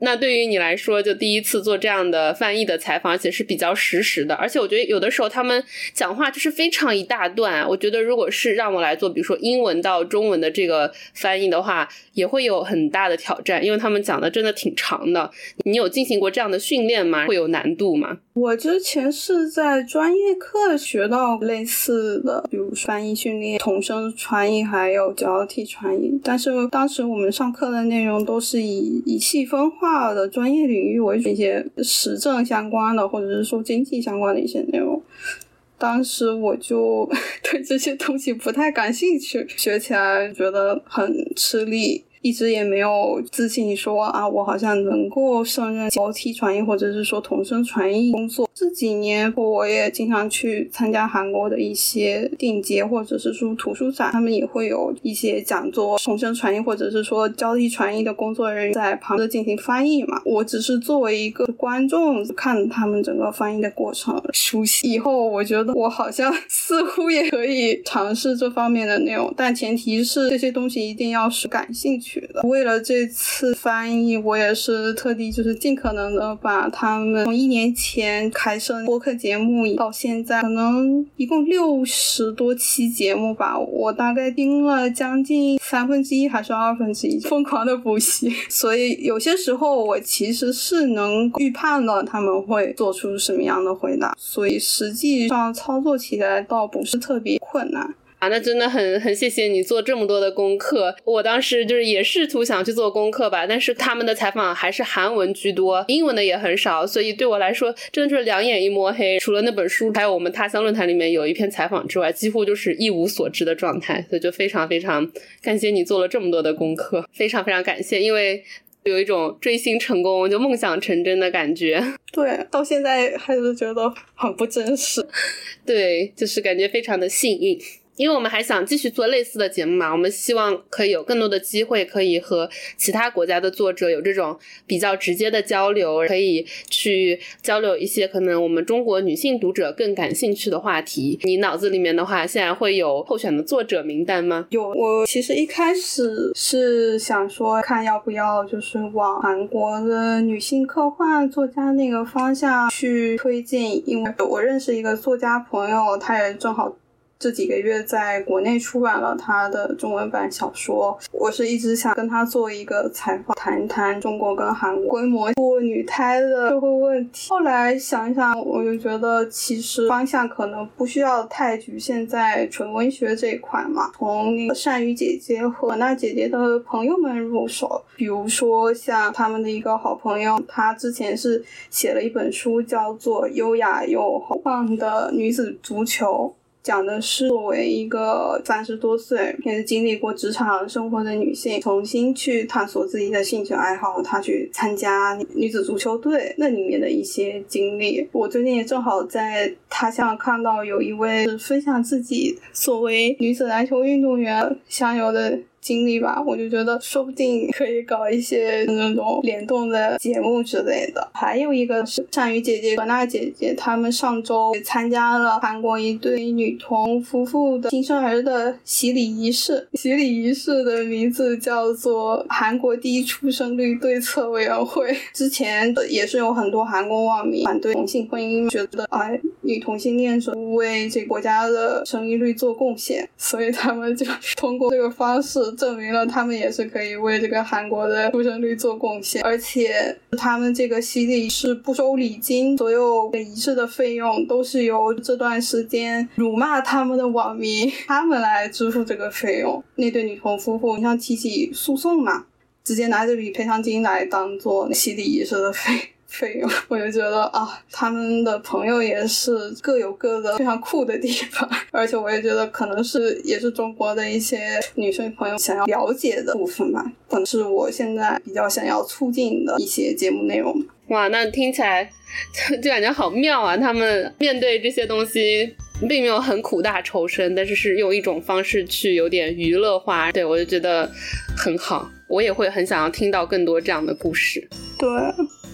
A: 那对于你来说，就第一次做这样的翻译的采访，而且是比较实时的，而且我觉得有的时候他们讲话就是非常一大段，我觉得如果是让我来做比如说英文到中文的这个翻译的话，也会有很大的挑战，因为他们讲的真的挺长的。你有进行过这样的训练吗？会有难度吗？
D: 我之前是在专业课学到类似的，比如翻译训练、同声传译还有交替传译，但是当时我们上课的内容都是以细分化的专业领域为主，一些时政相关的或者是说经济相关的一些内容。当时我就对这些东西不太感兴趣，学起来觉得很吃力，一直也没有自信说我好像能够胜任交替传译或者是说同声传译工作。这几年我也经常去参加韩国的一些电节或者是说图书展，他们也会有一些讲座，同声传译或者是说交替传译的工作人员在旁边进行翻译嘛。我只是作为一个观众看他们整个翻译的过程，熟悉以后我觉得我好像似乎也可以尝试这方面的内容，但前提是这些东西一定要是感兴趣的。为了这次翻译，我也是特地就是尽可能的把他们从1年前开设播客节目到现在可能一共60多期节目吧，我大概听了将近1/3还是1/2，疯狂的补习，所以有些时候我其实是能预判了他们会做出什么样的回答，所以实际上操作起来倒不是特别困难。
A: 那真的很谢谢你做这么多的功课。我当时就是也试图想去做功课吧，但是他们的采访还是韩文居多，英文的也很少，所以对我来说真的就是两眼一摸黑。除了那本书还有我们他乡论坛里面有一篇采访之外，几乎就是一无所知的状态，所以就非常非常感谢你做了这么多的功课，非常非常感谢，因为有一种追星成功就梦想成真的感觉。
D: 对，到现在还是觉得很不真实。
A: 对，就是感觉非常的幸运。因为我们还想继续做类似的节目嘛，我们希望可以有更多的机会可以和其他国家的作者有这种比较直接的交流，可以去交流一些可能我们中国女性读者更感兴趣的话题。你脑子里面的话现在会有候选的作者名单吗？
D: 有，我其实一开始是想说看要不要就是往韩国的女性科幻作家那个方向去推荐，因为我认识一个作家朋友，他也正好这几个月在国内出版了他的中文版小说，我是一直想跟他做一个采访，谈一谈中国跟韩国规模堕女胎的社会问题。后来想一想，我就觉得其实方向可能不需要太局限在纯文学这一块嘛，从那个善宇姐姐和那姐姐的朋友们入手，比如说像他们的一个好朋友，他之前是写了一本书叫做《优雅又豪放的女子足球》，讲的是作为一个30多岁也是经历过职场生活的女性，重新去探索自己的兴趣爱好，她去参加女子足球队那里面的一些经历。我最近也正好在他乡看到有一位分享自己作为女子篮球运动员享有的经历吧，我就觉得说不定可以搞一些那种联动的节目之类的。还有一个是善宇姐姐和娜姐姐，他们上周参加了韩国一对女童夫妇的新生儿的洗礼仪式，洗礼仪式的名字叫做韩国第一出生率对策委员会。之前也是有很多韩国网民反对同性婚姻，觉得女同性恋者不为这个国家的生育率做贡献，所以他们就通过这个方式证明了他们也是可以为这个韩国的出生率做贡献。而且他们这个洗礼是不收礼金，所有的仪式的费用都是由这段时间辱骂他们的网民他们来支付这个费用。那对女童夫妇像提起诉讼嘛，直接拿这笔赔偿金来当做洗礼仪式的费用。我就觉得他们的朋友也是各有各的非常酷的地方，而且我也觉得可能也是中国的一些女生朋友想要了解的部分吧，可能是我现在比较想要促进的一些节目内容。
A: 哇，那听起来就感觉好妙啊，他们面对这些东西并没有很苦大仇深，但是用一种方式去有点娱乐化，对，我就觉得很好，我也会很想要听到更多这样的故事。
D: 对，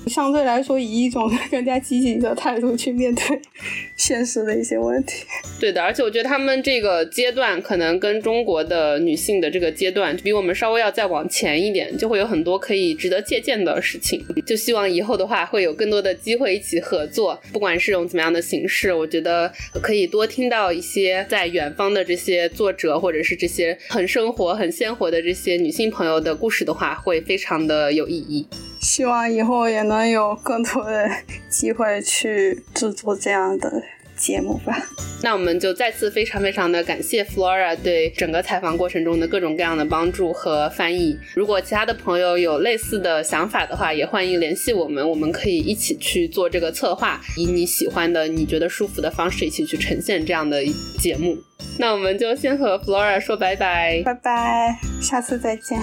D: 相对来说以一种更加积极的态度去面对现实的一些问题。
A: 对的，而且我觉得他们这个阶段可能跟中国的女性的这个阶段比我们稍微要再往前一点，就会有很多可以值得借鉴的事情。就希望以后的话会有更多的机会一起合作，不管是用怎么样的形式，我觉得可以多听到一些在远方的这些作者，或者是这些很生活很鲜活的这些女性朋友的故事的话，会非常的有意义。
D: 希望以后也能有更多的机会去制作这样的节目吧。
A: 那我们就再次非常非常的感谢 Flora 对整个采访过程中的各种各样的帮助和翻译。如果其他的朋友有类似的想法的话，也欢迎联系我们，我们可以一起去做这个策划，以你喜欢的你觉得舒服的方式一起去呈现这样的节目。那我们就先和 Flora 说拜拜。
D: 拜拜，下次再见。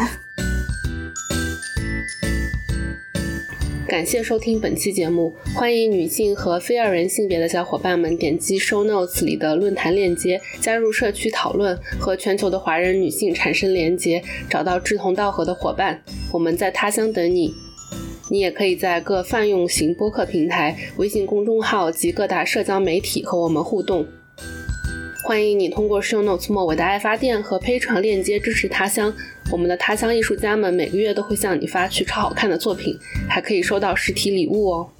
A: 感谢收听本期节目，欢迎女性和非二元性别的小伙伴们点击 show notes 里的论坛链接，加入社区讨论，和全球的华人女性产生连结，找到志同道合的伙伴。我们在他乡等你。你也可以在各泛用型播客平台、微信公众号及各大社交媒体和我们互动。欢迎你通过 show notes 末尾的爱发电和 Patreon 链接支持他乡。我们的他乡艺术家们每个月都会向你发去超好看的作品，还可以收到实体礼物哦。